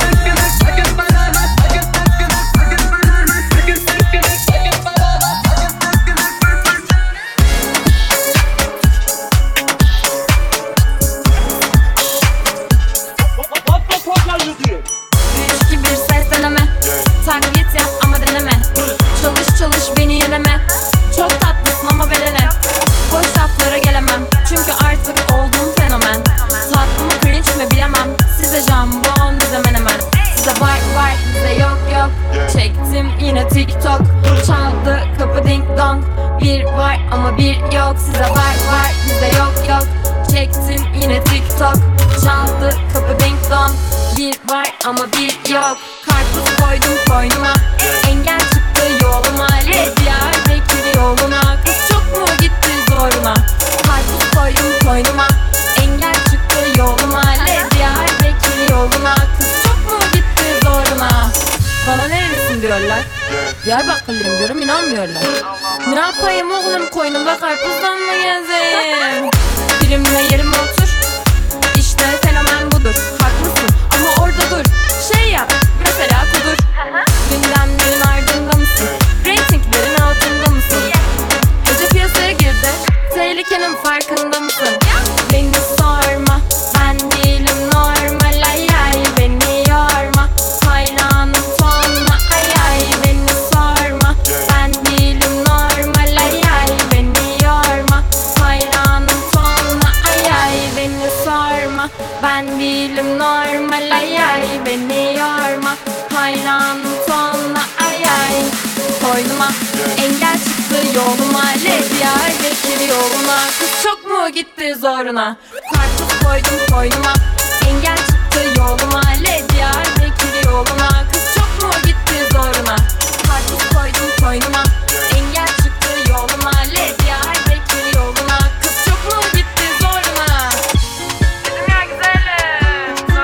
üç iki bir sesleneme. Taklit yap ama deneme. Çalış çalış beni yeneme. Çok tatlısın ama verene. Boş laflara gelemem. Çünkü artık oldum fenomen. Tatlı mı cringe mi bilemem. Size jambon bize menemen. Size var var bize yok yok. Çektim yine TikTok. Çaldı kapı ding dong. Bir var ama bir yok. Size var var bize yok yok. Çektim yine TikTok. Çaldı kapı ding dong. Bir var ama bir yok. Karpuz koydum koynuma. Engel çıktı yoluma. Diyarbakır yoluna. Kız çok mu gitti zoruna? Karpuz koydum koynuma. Engel çıktı yoluma. Diyarbakır yoluna. Kız çok mu gitti zoruna? Bana nerelisin diyorlar. Diyarbakırlıyım diyorum inanmıyorlar. Ne yapayım oğlum koynumda karpuzdan mı gezeyim? Birimle yerime otur. İşte fenomen budur. Haklısın ama orada dur. Şey yap mesela kudur. Gündemlerin ardında mısın? Ratinglerin altında mısın? Gece piyasaya girdi. Tehlikenin farkında mısın? Beni sorma. Ben değilim normal. Ay ay beni yorma. Hayranım tonla. Ay ay beni sorma. Ben değilim normal. Ay ay beni yorma. Hayranım tonla. Ay ay beni sorma. Ben değilim normal. Ay ay beni yorma. Hayranım tonla. Ay ay. Koynuma engel çıktı yoluma. Diyarbakır yoluna. Kız çok mu gitti zoruna? Karpuz koydum koynuma. Engel çıktı yoluma. Diyarbakır yoluna. Kız çok mu gitti zoruna? Karpuz koydum koynuma. Engel çıktı yoluma. Diyarbakır yoluna. Kız çok mu gitti zoruna? Dedim ya güzelim.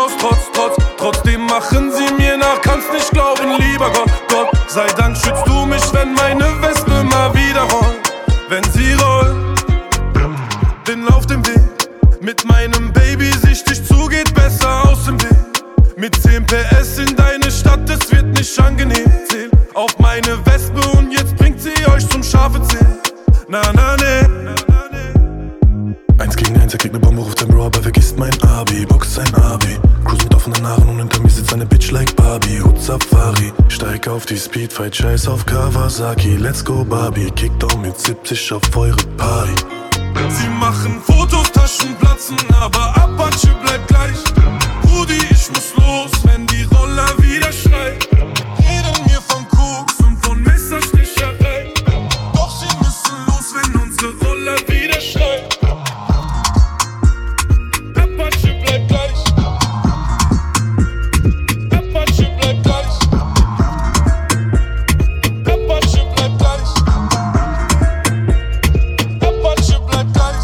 Fotos, trotz, trotz. Trotzdem machen sie mir nach, kannst nicht glauben, lieber Gott, Gott. Sei Dank schützt du mich, wenn meine Wespe mal wieder rollt. Wenn sie rollt, bin auf dem Weg. Mit meinem Baby sichtig zu, geht besser aus dem Weg. Mit zehn P S in deine Stadt, es wird nicht angenehm. Zähl auf meine Wespe und jetzt bringt sie euch zum scharfe Zählen. Na na ne. Eins gegen eins, er kriegt ne Bombe, ruft sein Bro, aber vergisst mein Abi. Boxt sein Abi, cruise mit offenen Haaren und hinter mir sitzt eine Bitch like Barbie. Hut Safari, steig auf die Speedfight, scheiß auf Kawasaki. Let's go Barbie, Kickdown mit siebzig auf eure Party. Sie machen Fotos, Taschen platzen, aber Apache bleibt gleich. Rudi, ich muss los, wenn die Roller wieder schreit. Reden mir von Koks und von Messersticherei. Doch sie müssen los, wenn unsere Roller wieder schreit. Apache bleibt gleich. Apache bleibt gleich. Apache bleibt gleich. Apache bleibt gleich.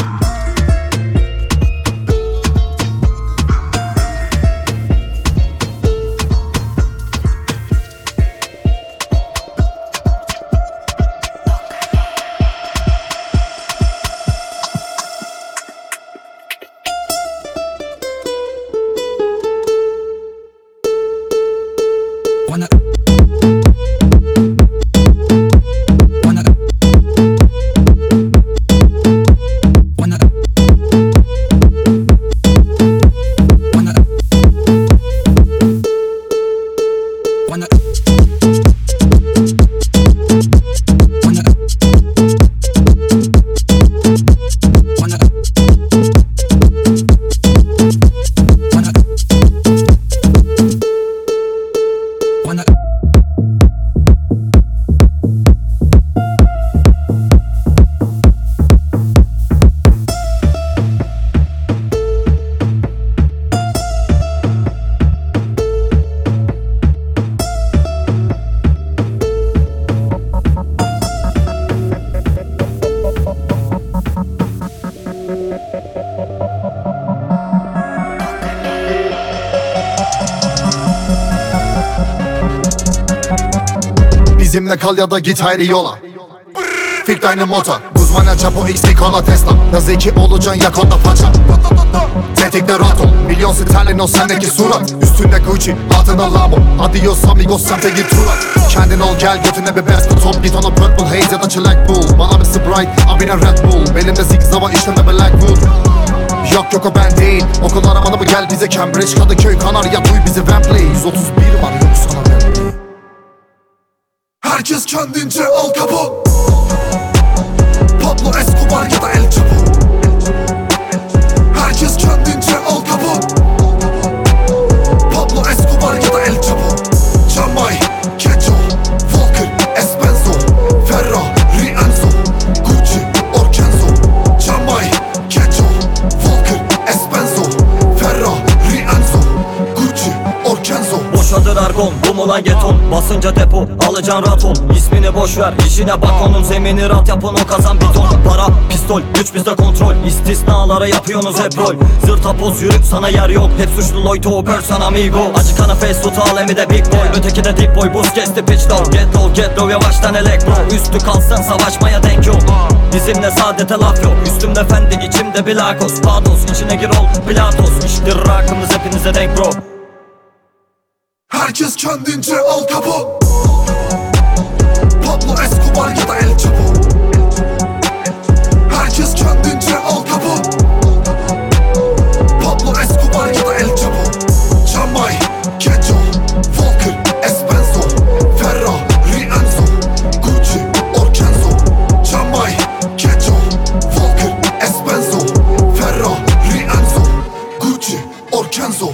Bizimle kal ya da git ayrı yola. Fik deine Mutter, Guzman'a Chapo X Nikola Tesla. Da zeki olacaksın yak onda paça. Tetikte rahat ol, milyon sterlin o sendeki surat. Üstünde Gucci, altında Lambo. Adios amigos semte git tur at. Kendin ol gel götüne bir best top. Git ona Purple Haze ya da Çilek Bull. Bana bir Sprite, abine Red Bull. Belimde zigzava işlemde Blackwood. Yok yok o ben değil, okul aramalı mı gel bize Cambridge, Kadıköy, Kanarya duy bizi Wembley. yüz otuz bir var yok sana Wembley. Herkes kendince Al Capone, Pablo Escobar ya da El Chapo. Herkes kendince Al Capone, Pablo Escobar ya da El Chapo. Jamay, Kejo, Walker, Espenzo, Ferrari, Enzo, Gucci, Orkenzo. Jamay, Kejo, Walker, Espenzo, Ferrari, Enzo, Gucci, Orkenzo. Boşadır argon, bu mu lan geton? Basınca depo, alacan raton. İsmini boşver, işine bak onun. Zemini rahat yapın o kazan biton. Para, pistol, güç bizde kontrol. İstisnalara yapıyorsunuz hep rol. Zırta poz yürü sana yer yok. Hep suçlu loyto, person amigo. Acıkana face tut al emi de big boy. Öteki de deep boy, buz kesti pitch down. Get low, get low, yavaştan elektro. Üstü kalsın savaşmaya denk yok. Bizimle saadete laf yok. Üstümde fendi, içimde bilakos. Pados, içine gir ol, pilatos. İştir rakımız hepinize denk bro. Herkes kendince Al Capone, Pablo Escobar ya da El Chapo. Herkes kendince Al Capone, Pablo Escobar ya da El Chapo. Jamay, Kejo, Walker, Espenzo, Ferrari, Enzo, Gucci, Orkenzo. Jamay, Kejo, Walker, Espenzo, Ferrari, Enzo, Gucci, Orkenzo.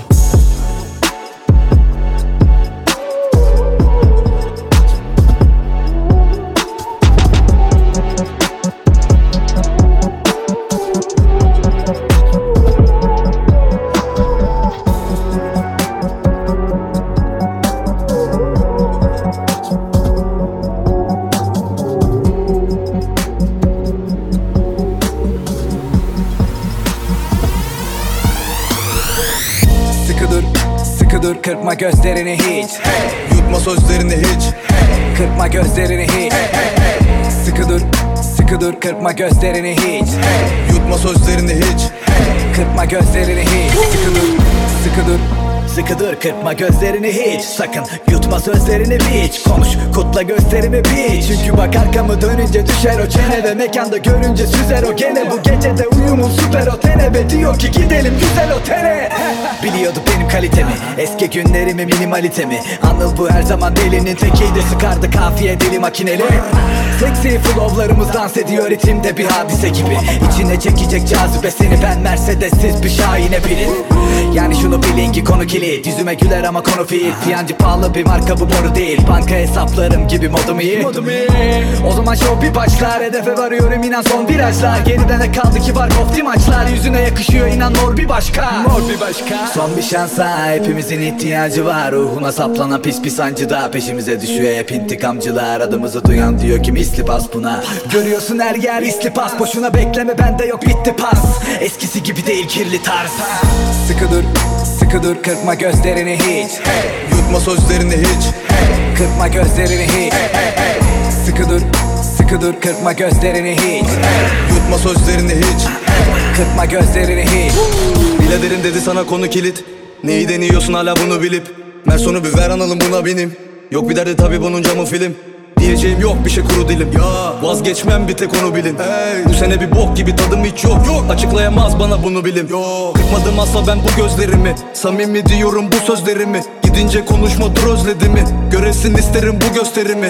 dur kırpma gözlerini hiç. Yutma sözlerini hiç. Kırpma gözlerini hiç. Sıkı dur, sıkı dur kırpma gözlerini hiç. Yutma sözlerini hiç. Kırpma gözlerini hiç. Sıkı dur, sıkı dur. Sıkı dur kırpma gözlerini hiç. Sakın yutma sözlerini hiç. Konuş kutla gösterimi biç. Çünkü bak arkamı dönünce düşer o çene. Ve mekanda görünce süzer o gene. Bu gecede uyumun süper o tene. Ve diyor ki gidelim güzel otele. Biliyordu benim kalitemi, eski günlerimi, minimalitemi. Anıl bu her zaman delinin tekiydi. Sıkardı kafiye deli makineli. Seksi flowlarımız dans ediyor ritimde bir hadise gibi. İçine çekecek cazibe seni, ben Mercedes'siz bir Şahin'e bilin. Yani şunu bilin ki konu kilit. Yüzüme güler ama konu fiil. Fiyancı pahalı bir marka bu boru değil. Banka hesaplarım gibi modum iyi, modum iyi. O zaman show bir başlar. Hedefe varıyorum inan son virajlar. Geride ne kaldı ki var kofti maçlar. Yüzüne yakışıyor inan mor bir başka. Mor bir başka. Son bir şansa hepimizin ihtiyacı var. Ruhuna saplanan pis pis sancı da peşimize düşüyor hep intikamcılar. Adımızı duyan diyor ki misli bas buna. Görüyorsun her yer isli pas. Boşuna bekleme bende yok bitti pas. Eskisi gibi değil kirli tarz. Sıkı dur, sıkı dur kırpma gözlerini hiç. Yutma sözlerini hiç. Kırpma gözlerini hiç. Sıkı dur, sıkı dur kırpma gözlerini hiç. Yutma sözlerini hiç. Kırpma gözlerini hiç. Biladerin dedi sana konu kilit. Neyi deniyorsun hala bunu bilip. Mersonu bir ver analım buna benim. Yok bir derdi tabi bunun camı film. Diyeceğim yok bir şey kuru dilim ya. Vazgeçmem bir tek onu bilin. Hey. Bu sene bir bok gibi tadım hiç yok, yok. Açıklayamaz bana bunu bilim yok. Kırpmadım asla ben bu gözlerimi. Samimi diyorum bu sözlerimi. Gidince konuşma dur özledi mi? Göresin isterim bu gösterimi.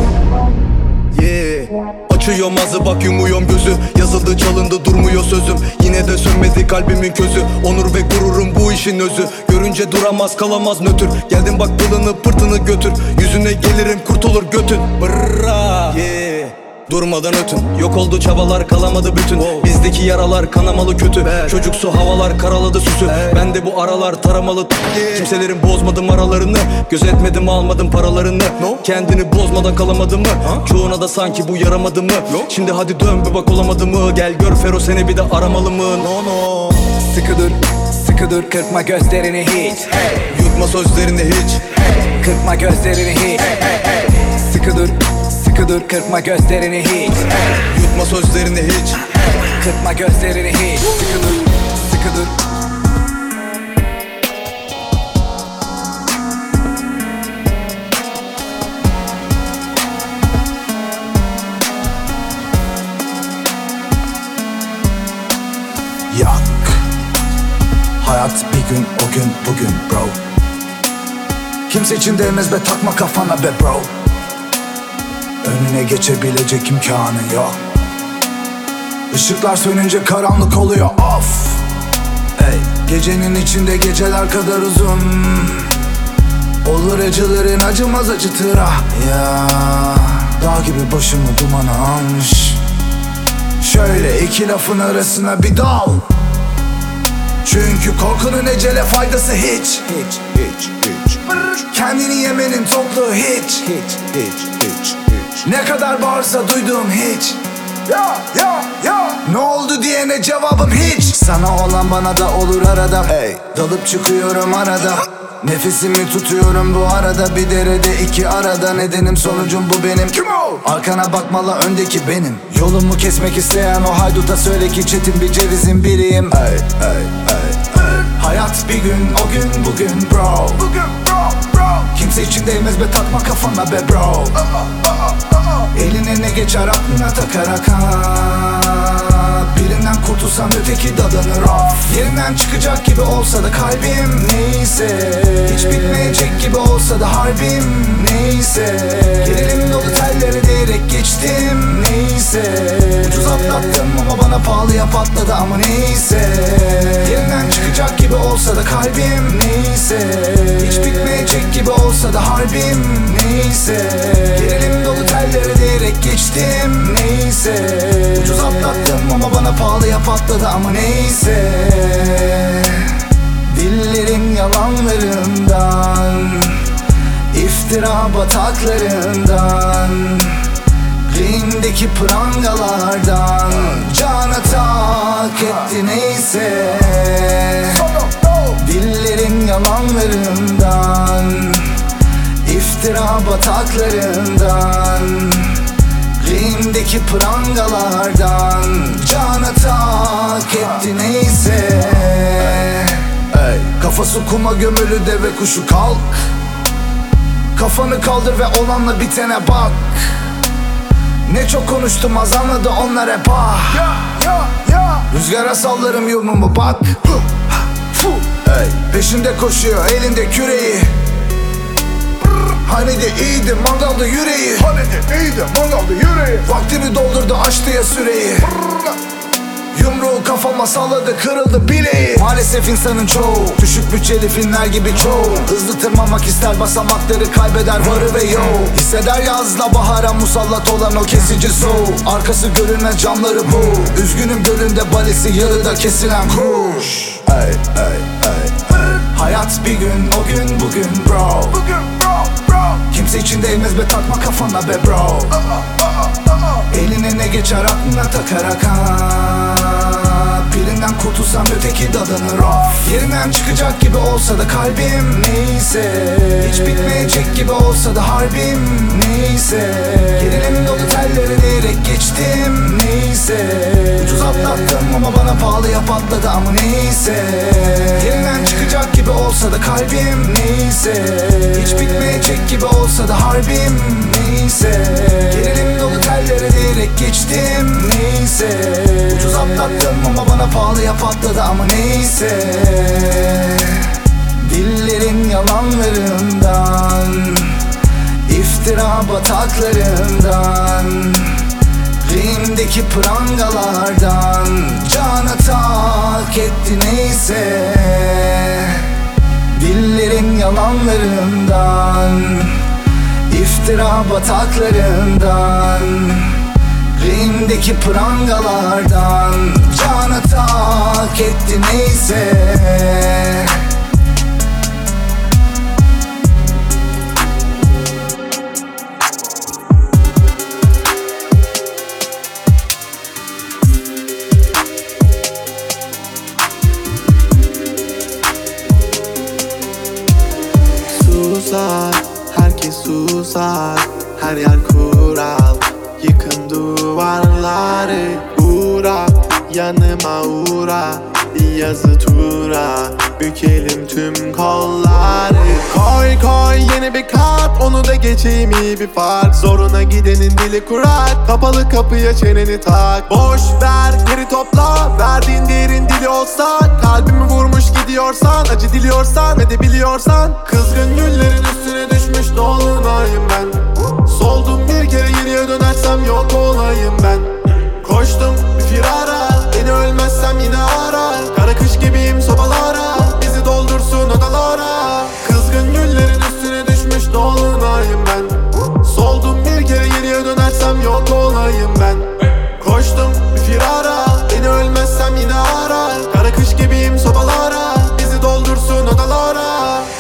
Yeah. Açıyorum ağzı bak yumuyorum gözü. Yazıldı çalındı durmuyor sözüm. Yine de sönmedi kalbimin közü. Onur ve gururum bu işin özü. Görünce duramaz kalamaz nötr. Geldim bak pılını pırtını götür. Yüzüne gelirim kurtulur götün. Brrrra yeah. Durmadan ötün. Yok oldu çabalar kalamadı bütün. Wow. Bizdeki yaralar kanamalı kötü. Be. Çocuksu havalar karaladı süsü. Hey. Ben de bu aralar taramalı yeah. Kimselerin bozmadım aralarını. Gözetmedim almadım paralarını. No. Kendini bozmadan kalamadı mı? Ha? Çoğuna da sanki bu yaramadı mı? No. Şimdi hadi dön bir bak olamadı mı? Gel gör Fero seni bir de aramalı mı? No no. Sıkı dur, sıkı dur kırpma gözlerini hiç. Hey. Yutma sözlerini hiç. Hey. Kırpma gözlerini hiç. Hey. Hey. Sıkı dur, sıkı dur kırpma gözlerini hiç. Hey. Yutma sözlerini hiç. Hey. Kırpma gözlerini hiç. Sıkı dur, sıkı dur. Yak. Hayat bir gün o gün bugün bro. Kimse için değmez be takma kafana be bro. Önüne geçebilecek imkanın yok. Işıklar sönünce karanlık oluyor of. Ey, gecenin içinde geceler kadar uzun. Olur acıların acımaz acıtır ah ya. Dağ gibi başımı dumana almış. Şöyle iki lafın arasına bir dal. Çünkü korkunun ecele faydası hiç. Hiç, hiç, hiç. Kendini yemenin toplu hiç. Hiç, hiç, hiç, hiç. Ne kadar bağırsa duyduğum hiç. Ya, ya, ya. Ne oldu diyene cevabım hiç. Sana olan bana da olur arada. Hey. Dalıp çıkıyorum arada. Nefesimi tutuyorum bu arada. Bir derede iki arada. Nedenim sonucum bu benim. Kim o? Arkana bakmalı öndeki benim. Yolumu kesmek isteyen o hayduta söyle ki çetin bir cevizin biriyim. Hey, hey, hey, hey. Hayat bir gün o gün bugün bro. Bugün bro, bro. Kimse için değmez be takma kafana be bro. uh, uh, uh, uh. Eline ne geçer aklına takarak ha. Birinden kurtulsam öteki dadanır of. Yerinden çıkacak gibi olsa da kalbim neyse. Hiç bitmeyecek gibi olsa da harbim neyse. Gerilim dolu telleri değerek geçtim neyse. Ucuz atlattım ama bana pahalıya patladı ama neyse. Yerinden çıkacak gibi olsa da kalbim neyse. Hiç bitmeyecek gibi olsa da harbim neyse. Gerilim dolu telleri değerek geçtim neyse. Ucuz atlattım ama bana pahalıya patladı ama neyse. Dillerin yalanlarından, iftira bataklarından, Green'deki prangalardan cana tak etti neyse. Dillerin yalanlarından, İftira bataklarından, limdeki prangalardan cana tak etti neyse. Ey, kafası kuma gömülü deve kuşu kalk. Kafanı kaldır ve olanla bitene bak. Ne çok konuştum az anladı onlar hep ah. Rüzgara sallarım yumumu bak. Ey, peşinde koşuyor elinde küreği. Hani de iyiydi mangalda yüreği. Hani de iyiydi mangalda yüreği. Vaktini doldurdu açtı ya süreyi. Yumruğu kafama salladı kırıldı bileği. Maalesef insanın çoğu düşük bütçeli filmler gibi çoğu. Hızlı tırmanmak ister basamakları kaybeder varı ve yo. Hisseder yazla bahara musallat olan o kesici soğuk. Arkası görünmez camları bu. Üzgünüm gölünde balesi yarıda kesilen kuş. Ey ey ey ey. Hayat bir gün o gün bugün bro. Bugün bro bro. Kimse için değmez be takma kafana be bro. Eline ne geçer aklına takarak ha. Birinden kurtulsam öteki dadanır of. Yerinden çıkacak gibi olsa da kalbim neyse. Hiç bitmeyecek gibi olsa da harbim neyse. Gerilim dolu telleri diyerek geçtim neyse. Ucuz atlattım ama bana pahalıya patladı ama neyse. Yerinden çıkacak gibi olsa da kalbim neyse. Hiç bitmeyecek gibi olsa da harbim neyse. Gerilim dolu telleri diyerek geçtim neyse. Ucuz atlattım ama bana pahalıya patladı ama neyse. Dillerin yalanlarından, iftira bataklarından, limdeki prangalardan cana tak etti neyse. Dillerin yalanlarından, iftira bataklarından, limdeki prangalardan cana tak etti neyse. Susar, herkes susar, her yer kural. Yıkın duvarları, uğra, yanıma uğra. Bir yazı tura, bükelim tüm kolları. Koy koy yeni bir kart, onu da geçeyim iyi bir fark. Zoruna gidenin dili kurar, kapalı kapıya çeneni tak. Boş ver geri topla, verdiğin değerin dili olsa. Kalbimi vurmuş gidiyorsan, acı diliyorsan ve de biliyorsan. Kızgın güllerin üstüne düşmüş dolunayım ben. Soldum bir kere geriye dönersem yok olayım ben. Koştum bir firara, beni ölmezsem yine arar. Kara kış gibiyim sobalara, bizi doldursun odalara. Kızgın güllerin üstüne düşmüş dolunayım ben. Soldum bir kere geriye dönersem yok olayım ben. Koştum bir firara, beni ölmezsem yine arar. Kara kış gibiyim sobalara, bizi doldursun odalara.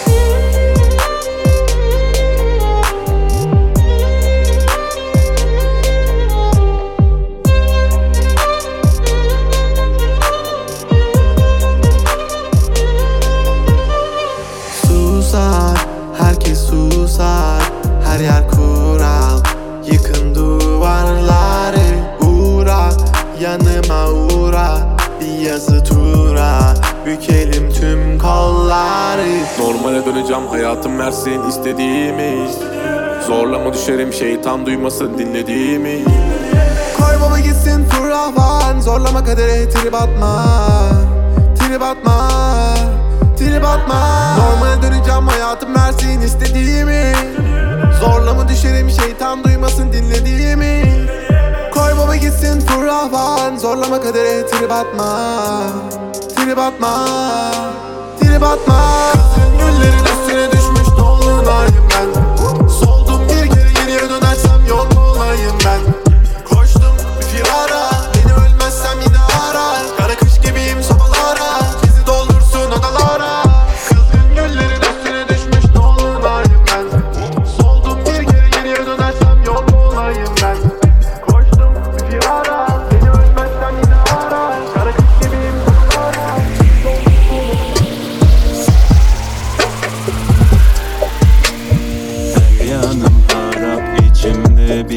Herkes susar, her yer kural. Yıkın duvarları, uğra, yanıma uğra. Bir yazı tura, bükelim tüm kolları. Normale döneceğim hayatım versin istediğimi. Zorlama düşerim şeytan duymasın dinlediğimi. Koy baba gitsin fırlavan, zorlama kadere trip atma. Trip atma, trip atma. Normale döneceğim hayatım versin istediğimi. Zorlama düşerim şeytan duymasın dinlediğimi. Koy baba gitsin fırlavan, zorlama kadere trip atma. Trip atma, trip atma. Kızın güllerin üstüne düşmüş dolunayım ben. Soldum bir kere geriye dönersem yok olayım ben. Koştum bir firara, beni ölmezsem yine arar. Kara kış gibiyim sobalara, bizi doldursun odalara. Kızgın güllerin üstüne düşmüş dolunayım ben. Soldum bir kere geriye dönersem yok olayım ben. Koştum bir firara, beni ölmezsem yine arar. Kara kış gibiyim sobalara.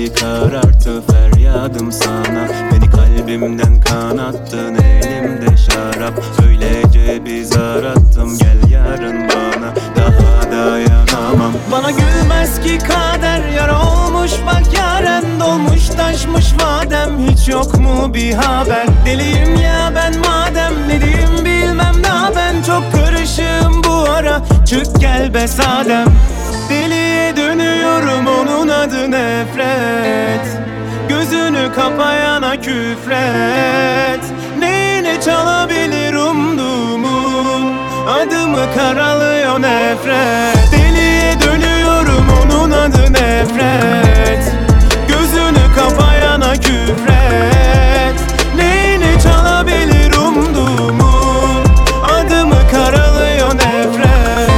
Geceleri kararttı feryadım sana. Beni kalbimden kanattın, elimde şarap. Öylece bir zar attım, gel yarın bana. Daha dayanamam. Bana gülmez ki kader, yara olmuş bak yaren. Dolmuş taşmış vadem, hiç yok mu bir haber? Deliyim ya ben madem, ne diyeyim bilmem daha. Ben çok karışığım bu ara, çık gel be sadem. Deliye dönüyorum, onun adı nefret. Gözünü kapayana küfret. Neyine çalabilir umduğumun, adımı karalıyor nefret. Deliye dönüyorum, onun adı nefret. Gözünü kapayana küfret. Neyine çalabilir umduğumun, adımı karalıyor nefret.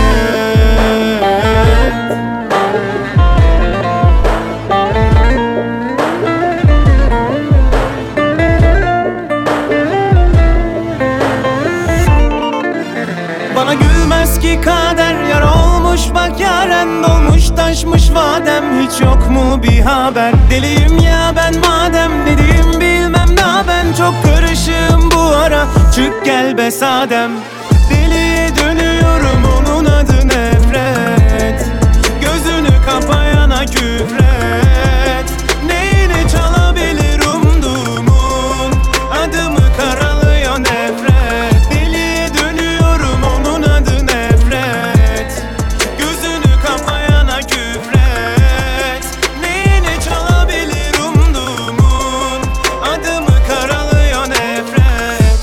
Bana gülmez ki kader, yara olmuş bak yaren. Dolmuş taşmış vadem, hiç yok mu bir haber? Deliyim ya ben madem, ne diyeyim bilmem daha. Ben çok karışığım bu ara, çık gel be sadem. Deliye dönüyorum, onun adı nefret. Gözünü kapayana küfret. Neyine çalabilir umduğumun, adımı karalıyor nefret. Deliye dönüyorum, onun adı nefret. Gözünü kapayana küfret. Neyine çalabilir umduğumun, adımı karalıyor nefret.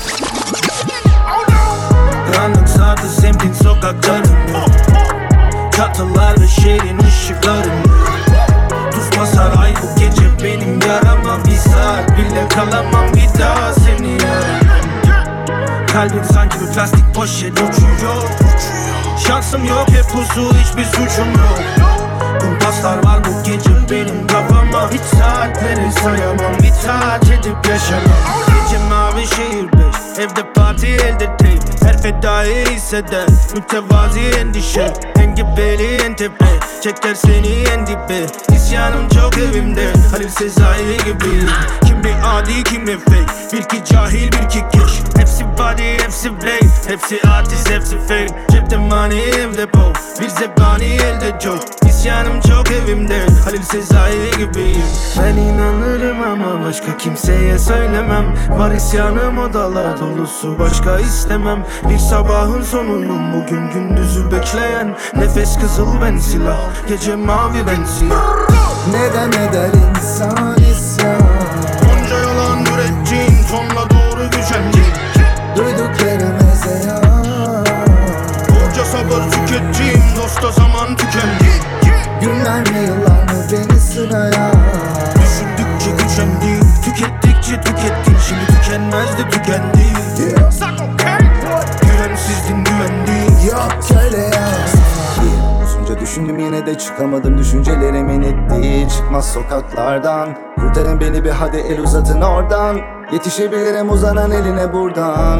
Karanlık sardı semtin sokaklarını. Çatılar ve şehrin ışıklarını. Tuz basar ay bu gece benim yarama. Bir saat bile kalamam bir daha seni yaramam. Kalbim sanki bir plastik poşet uçuyor. Şansım yok hep huzur, hiçbir suçum yok. Kumpaslar var bu gece benim kafama. Hiç saatleri sayamam, itaat edip yaşamam. Gece mavi şehir beş, evde parti elde teyp. Her fedai hisseder, mütevazi endişe. Engebeli en tepe, çeker seni en dibe. İsyanım çok evimde, Halil Sezai gibi. Kimi adi kimi fake, bir ki cahil bir ki keş. Hepsi body, hepsi blade, hepsi artist, hepsi fake. Cepte money, evde po, bir zebani elde joke. İsyanım çok evimde, Halil Sezai gibiyim. Ben inanırım ama başka kimseye söylemem. Var isyanım odalar dolusu, başka istemem. Bir sabahın sonuyum bugün, gündüzü bekleyen. Nefes kızıl ben silah, gece mavi ben siyah. Neden eder insan isyan? Onca yalan ürettiğin, sonla doğru gücendiğin. Duyduklarım ezeyan. Onca sabır tükettiğim, dosta zaman tükendi. Günler mi yıllar mı beni sıraya? Düşündükçe gücendim, tükettikçe tükettim. Şimdi tükenmez de tükendi. Yeah. Güvensizdin güvendim. Yok öyle ya. Uzunca düşündüm yine de çıkamadım düşüncelerimin ettiği çıkmaz sokaklardan. Kurtarın beni bir hadi el uzatın oradan. Yetişebilirim uzanan eline buradan.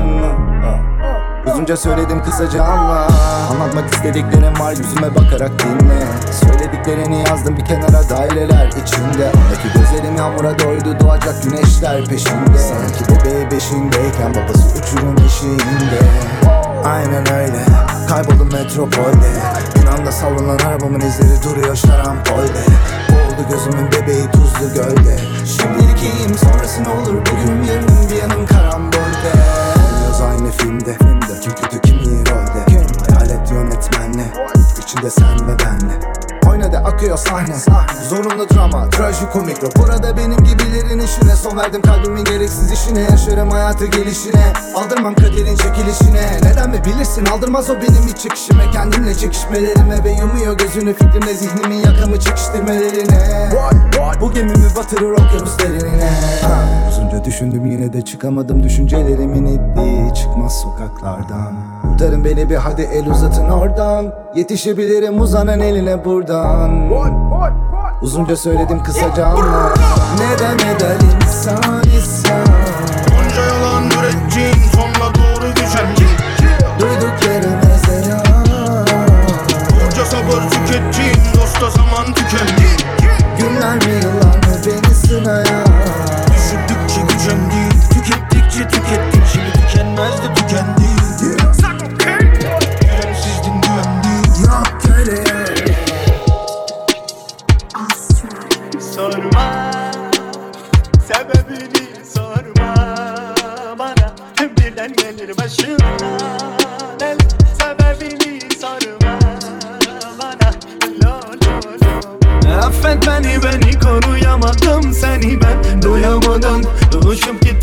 Uzunca söyledim kısaca anla. Anlatmak istediklerim var yüzüme bakarak dinle. Söylediklerini yazdım bir kenara daireler içinde. Ondaki gözlerim yağmura doydu doğacak güneşler peşinde. Sanki bebeği beşindeyken babası uçurum eşiğinde. Aynen öyle kayboldum metropolde. Bir anda savrulanan arabamın izleri duruyor şarampolde. Oldu gözümün bebeği tuzlu gölde. Şimdilik iyiyim sonrası ne olur bugün yarın bir yanım karambolde. Oynuyoruz aynı filmde, filmde. Kim kötü kim iyi rolde. Kim? Hayalet yönetmenle, içinde sen ve benle. Oynadı akıyor sahne, zorunlu drama, trajikomik. Burada benim gibilerin işine son verdim kalbimin gereksiz işine. Yaşarım hayatı gelişine, aldırmam kaderin çekilişine. Neden mi bilirsin aldırmaz o benim iç çekişime. Kendimle çekişmelerime ve yumuyor gözünü fikrimle zihnimin yakamı çekiştirmelerine. Bu gemimi batırır okyanus derinine. Uzunca düşündüm yine de çıkamadım düşüncelerimin ettiği çıkmaz sokaklardan. Kurtarın beni bir hadi el uzatın oradan. Yetişebilirim uzanan eline buradan. Uzunca söyledim kısaca anla. Neden eder insan isyan? Onca yalan ürettiğin, sonla doğru gücendiğin. Duyduklarım ezeyan. Onca sabır tükettiğin, dosta zaman tükendi. Günler mi yıllar mı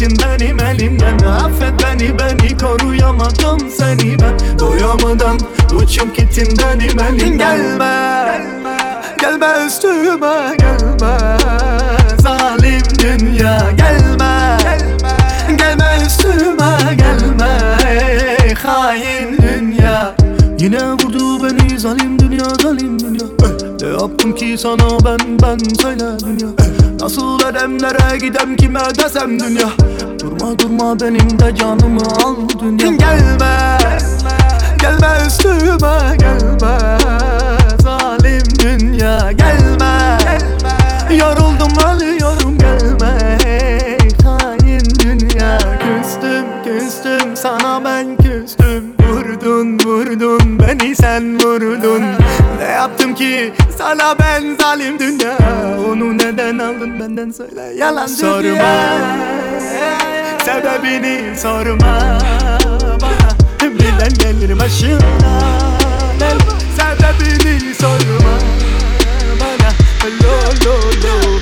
gittin benim elimden. Affet beni, beni koruyamadım seni ben. Doyamadan uçup gittin benim elimden. Gelme, gelme, gelme üstüme gelme. Zalim dünya gelme, gelme, gelme üstüme gelme. Ey hain dünya. Yine vurdu beni zalim dünya, zalim dünya. Ne yaptım ki sana ben, ben söyle dünya. Nasıl edemlere gidem kime desem dünya. Durma durma benim de canımı al dünya. Gelme, gelme üstüme gelme. Zalim dünya gelme, yoruldum ölüyorum gelme. Hain dünya, küstüm küstüm sana ben küstüm. Vurdun vurdun beni sen vurdun. Ne yaptım ki sana ben zalim dünya. Onu neden aldın benden söyle yalan dünya. Sorma, sebebini sorma bana. Birden gelir başına. Sebebini sorma bana. Lo lo lo.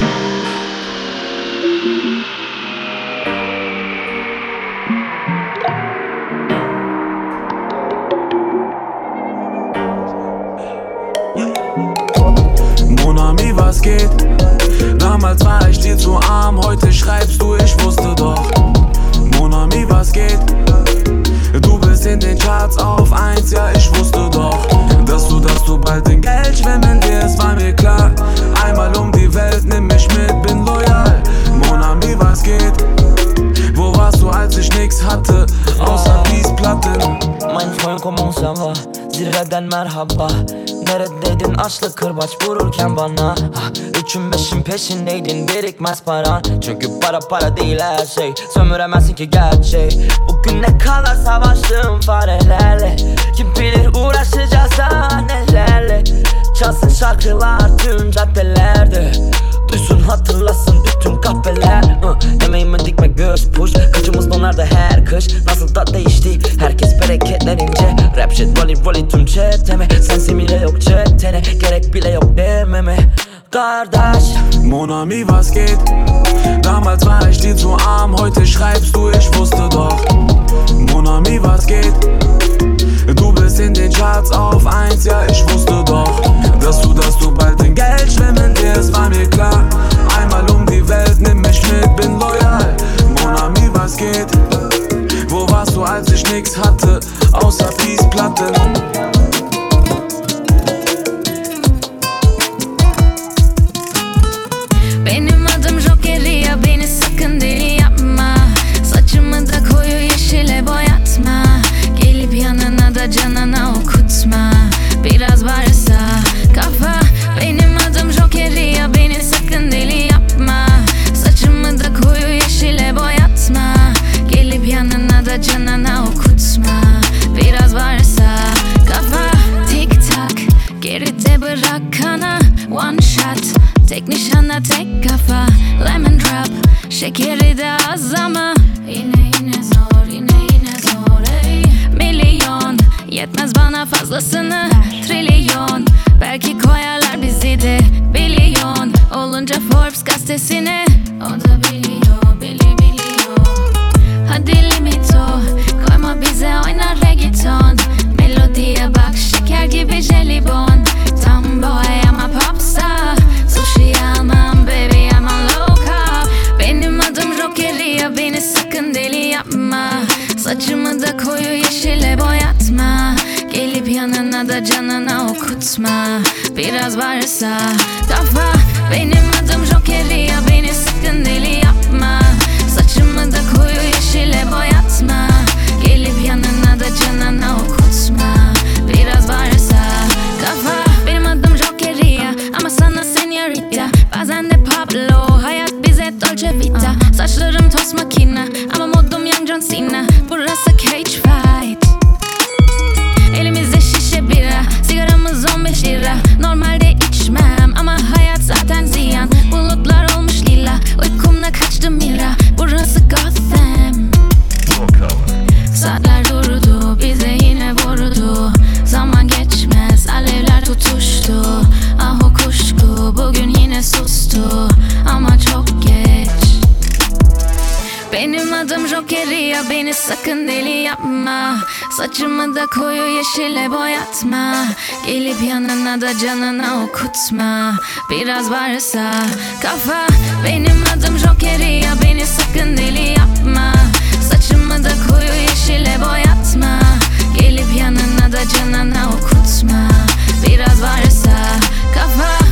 Monami, was geht? Damals war ich dir zu arm, heute schreibst du, ich wusste doch. Monami, was geht? Du bist in den Charts auf eins, ja ich wusste doch. Dass du, dass du bald in Geld schwimmen wirst, war mir klar. Einmal um die Welt, nimm mich mit, bin loyal. Monami, was geht? Wo warst du, als ich nix hatte, außer Peace-Platten? Mein Freund, comment ça va? Zirveden merhaba. Neredeydin açlık kırbaç vururken bana? Üçün beşin peşindeydin birikmez paran. Çünkü para para değil her şey. Sömüremezsin ki gerçeği. Bugün ne kadar savaştığım farelerle. Kim bilir uğraşacağız daha nelerle. Çalsın şarkılar tüm caddelerde. Duysun hatırlasın bütün kahveler. uh, Yemeğime dikme göz push. Kıçımız donar her kış. Nasıl da değişti herkes bereketlerince. Rap shit volley volley tüm çeteme. Sensin bile yok çetene. Gerek bile yok dememe kardeş. Monami, was geht? Damals war ich dir zu arm, heute schreibst du, ich wusste doch. Monami, was geht? Du bist in den Charts auf eins, ja ich wusste doch. Dass du, dass du bald in Geld schwimmen wirst, war mir klar. Einmal um die Welt, nimm mich mit, bin loyal. Monami, was geht? Wo warst du, als ich nix hatte, außer Peace-Platten? Benim adım Jokeria, beni sakın deli yapma. Saçımı da koyu yeşile boyatma. Gelip yanına da canına okutma. Biraz varsa kafa. Benim adım Jokeria, beni sakın deli yapma. Saçımı da koyu yeşile boyatma. Gelip yanına da canına okutma. Biraz varsa kafa. Tik tak geride bırak kana. One shot tek nişana tek kafa. Lemon drop şekeri de az ama yine yine zor, yine yine zor ey. Milyon yetmez bana fazlasını. Trilyon belki koyarlar bizi de. Milyon olunca Forbes gazetesine. O da biliyor, bili biliyor. Hadi limit o, koyma bize oynar reggaeton. Melodiye bak şeker gibi jelibon. Tam boy ama popsa. Sushi almam baby I'm on low carb. Benim adım Jokeria, beni sakın deli yapma. Saçımı da koyu yeşile boyatma. Gelip yanına da canına okutma. Biraz varsa kafa. Benim adım Jokeria, beni sakın deli yapma. Saçımı da koyu yeşile boyatma. Gelip yanına da canına okutma. Biraz varsa kafa. Benim adım Jokeria ama sana señorita. Bazen de Pablo, hayat bize Dolce Vita. Saçlarım toz makina ama modum Young John Cena. Burası cage fight. Elimizde şişe bira, sigaramız on beş lira. Normalde içmem ama hayat zaten ziyan. Bulutlar olmuş beni sakın deli yapma. Saçımı da koyu yeşile boyatma. Gelip yanına da canına okutma. Biraz varsa kafa, benim adım Joker'i ya, beni sakın deli yapma. Saçımı da koyu yeşile boyatma. Gelip yanına da canına okutma. Biraz varsa kafa.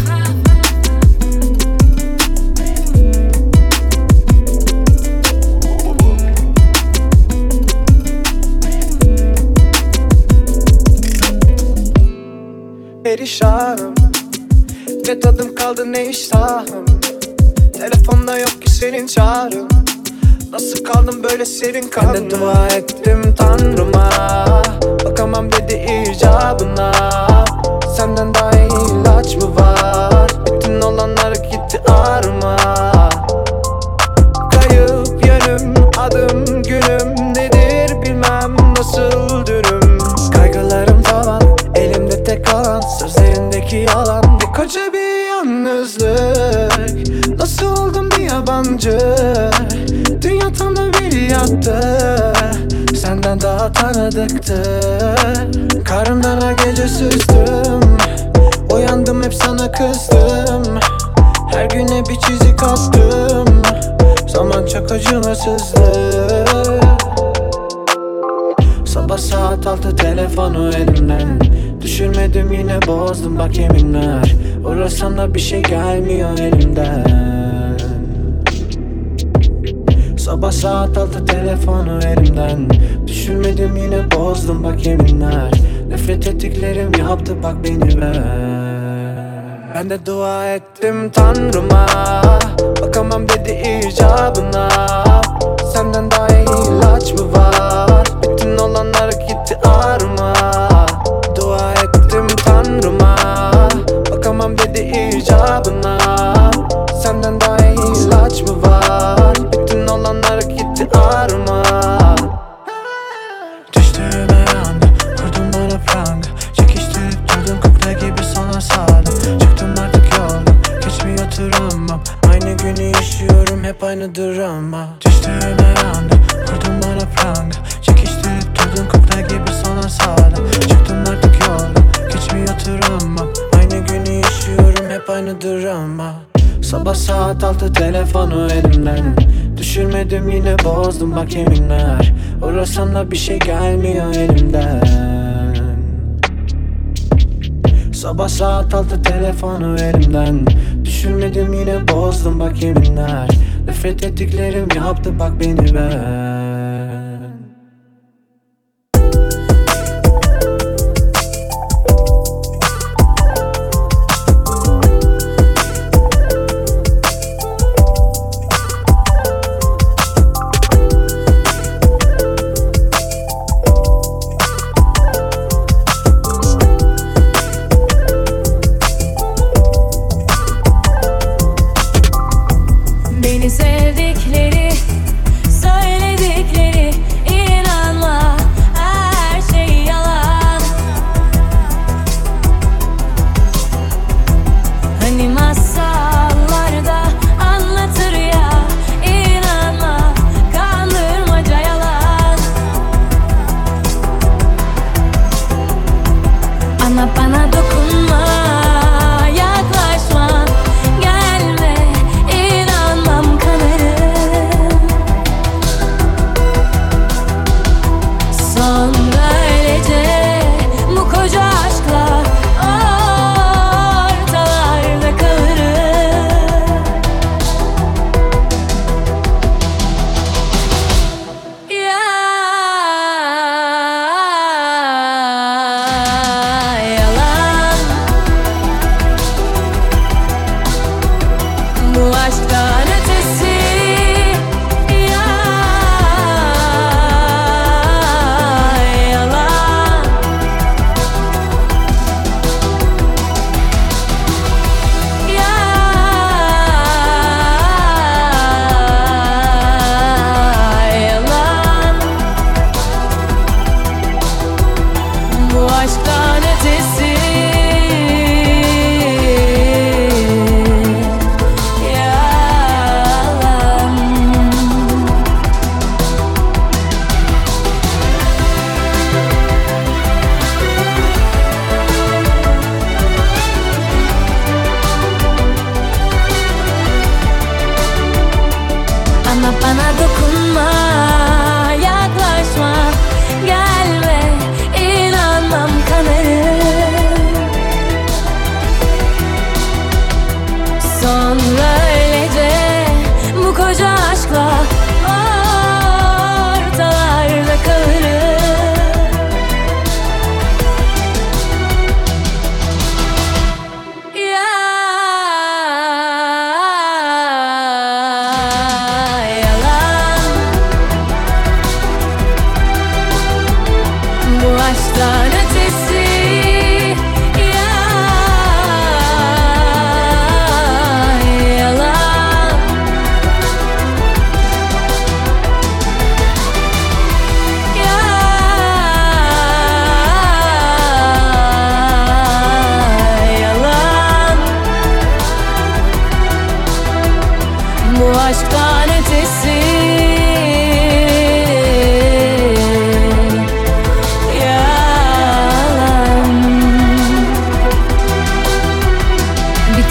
Perişanım, ne tadım kaldı ne iştahım. Telefonda yok ki senin çağrın. Nasıl kaldım böyle serin kanlı? Ben de dua ettim Tanrıma, bakamam dedi icabına. Senden daha iyi ilaç mı var? Bütün olanlar gitti ağrıma. Kayıp yönüm, adım günüm nedir bilmem, nasıl dürüm. Kaygılarım tavan, elimde tek kalan sözlerindeki yalan. Bir koca bir yalnızlık, nasıl oldum bir yabancı. Dünya tam da bir yattı, senden daha tanıdıktı. Karnımdan her gece süzdüm, uyandım hep sana kızdım. Her güne bir çizik attım, zaman çok acımasızdı. Sabah saat altı telefonu elimden, düşürmedim yine bozdum bak yeminler. Uğrasam da bir şey gelmiyor elimden. Sabah saat altı telefonu elimden, düşürmedim yine bozdum bak yeminler. Nefret ettiklerim yaptı bak beni ver. Ben de dua ettim Tanrıma, bakamam dedi icabına. Senden daha iyi ilaç mı var? Bütün olanlar gitti ağrıma. Dua ettim Tanrıma, bakamam dedi icabına. Senden daha iyi ilaç mı var? Bütün olanlar gitti ağrıma. Düştüğüme yandı, vurdun bana pranga. Çekiştirip durdun kukla gibi sana sağdım. Çıktım artık yoldan, geçmiyor travmam. Aynı günü yaşıyorum hep aynı drama. Düştüğüme yandı, vurdun bana pranga. Çekiştirip durdun kukla gibi sana sağdım. Çıktım artık yoldan, geçmiyor travmam. Aynı günü yaşıyorum hep aynı drama. Sabah saat altı telefonu elimden, düşürmedim yine bozdum bak yeminler. Uğrasam da bir şey gelmiyor elimden. Sabah saat altı telefonu elimden, düşürmedim yine bozdum bak yeminler. Nefret ettiklerim yaptı bak beni ben. Beni sevdikleri, söyledikleri, inanma her şey yalan. Hani masallarda anlatır ya, inanma kandırmaca yalan. Ama bana dokunma, yaklaşma, gelme, inanmam kanarım. Son böylece bu koca aşkla ortalarda kalırım. Ya yalan.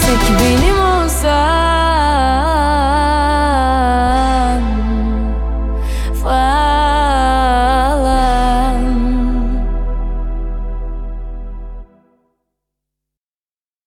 tek benim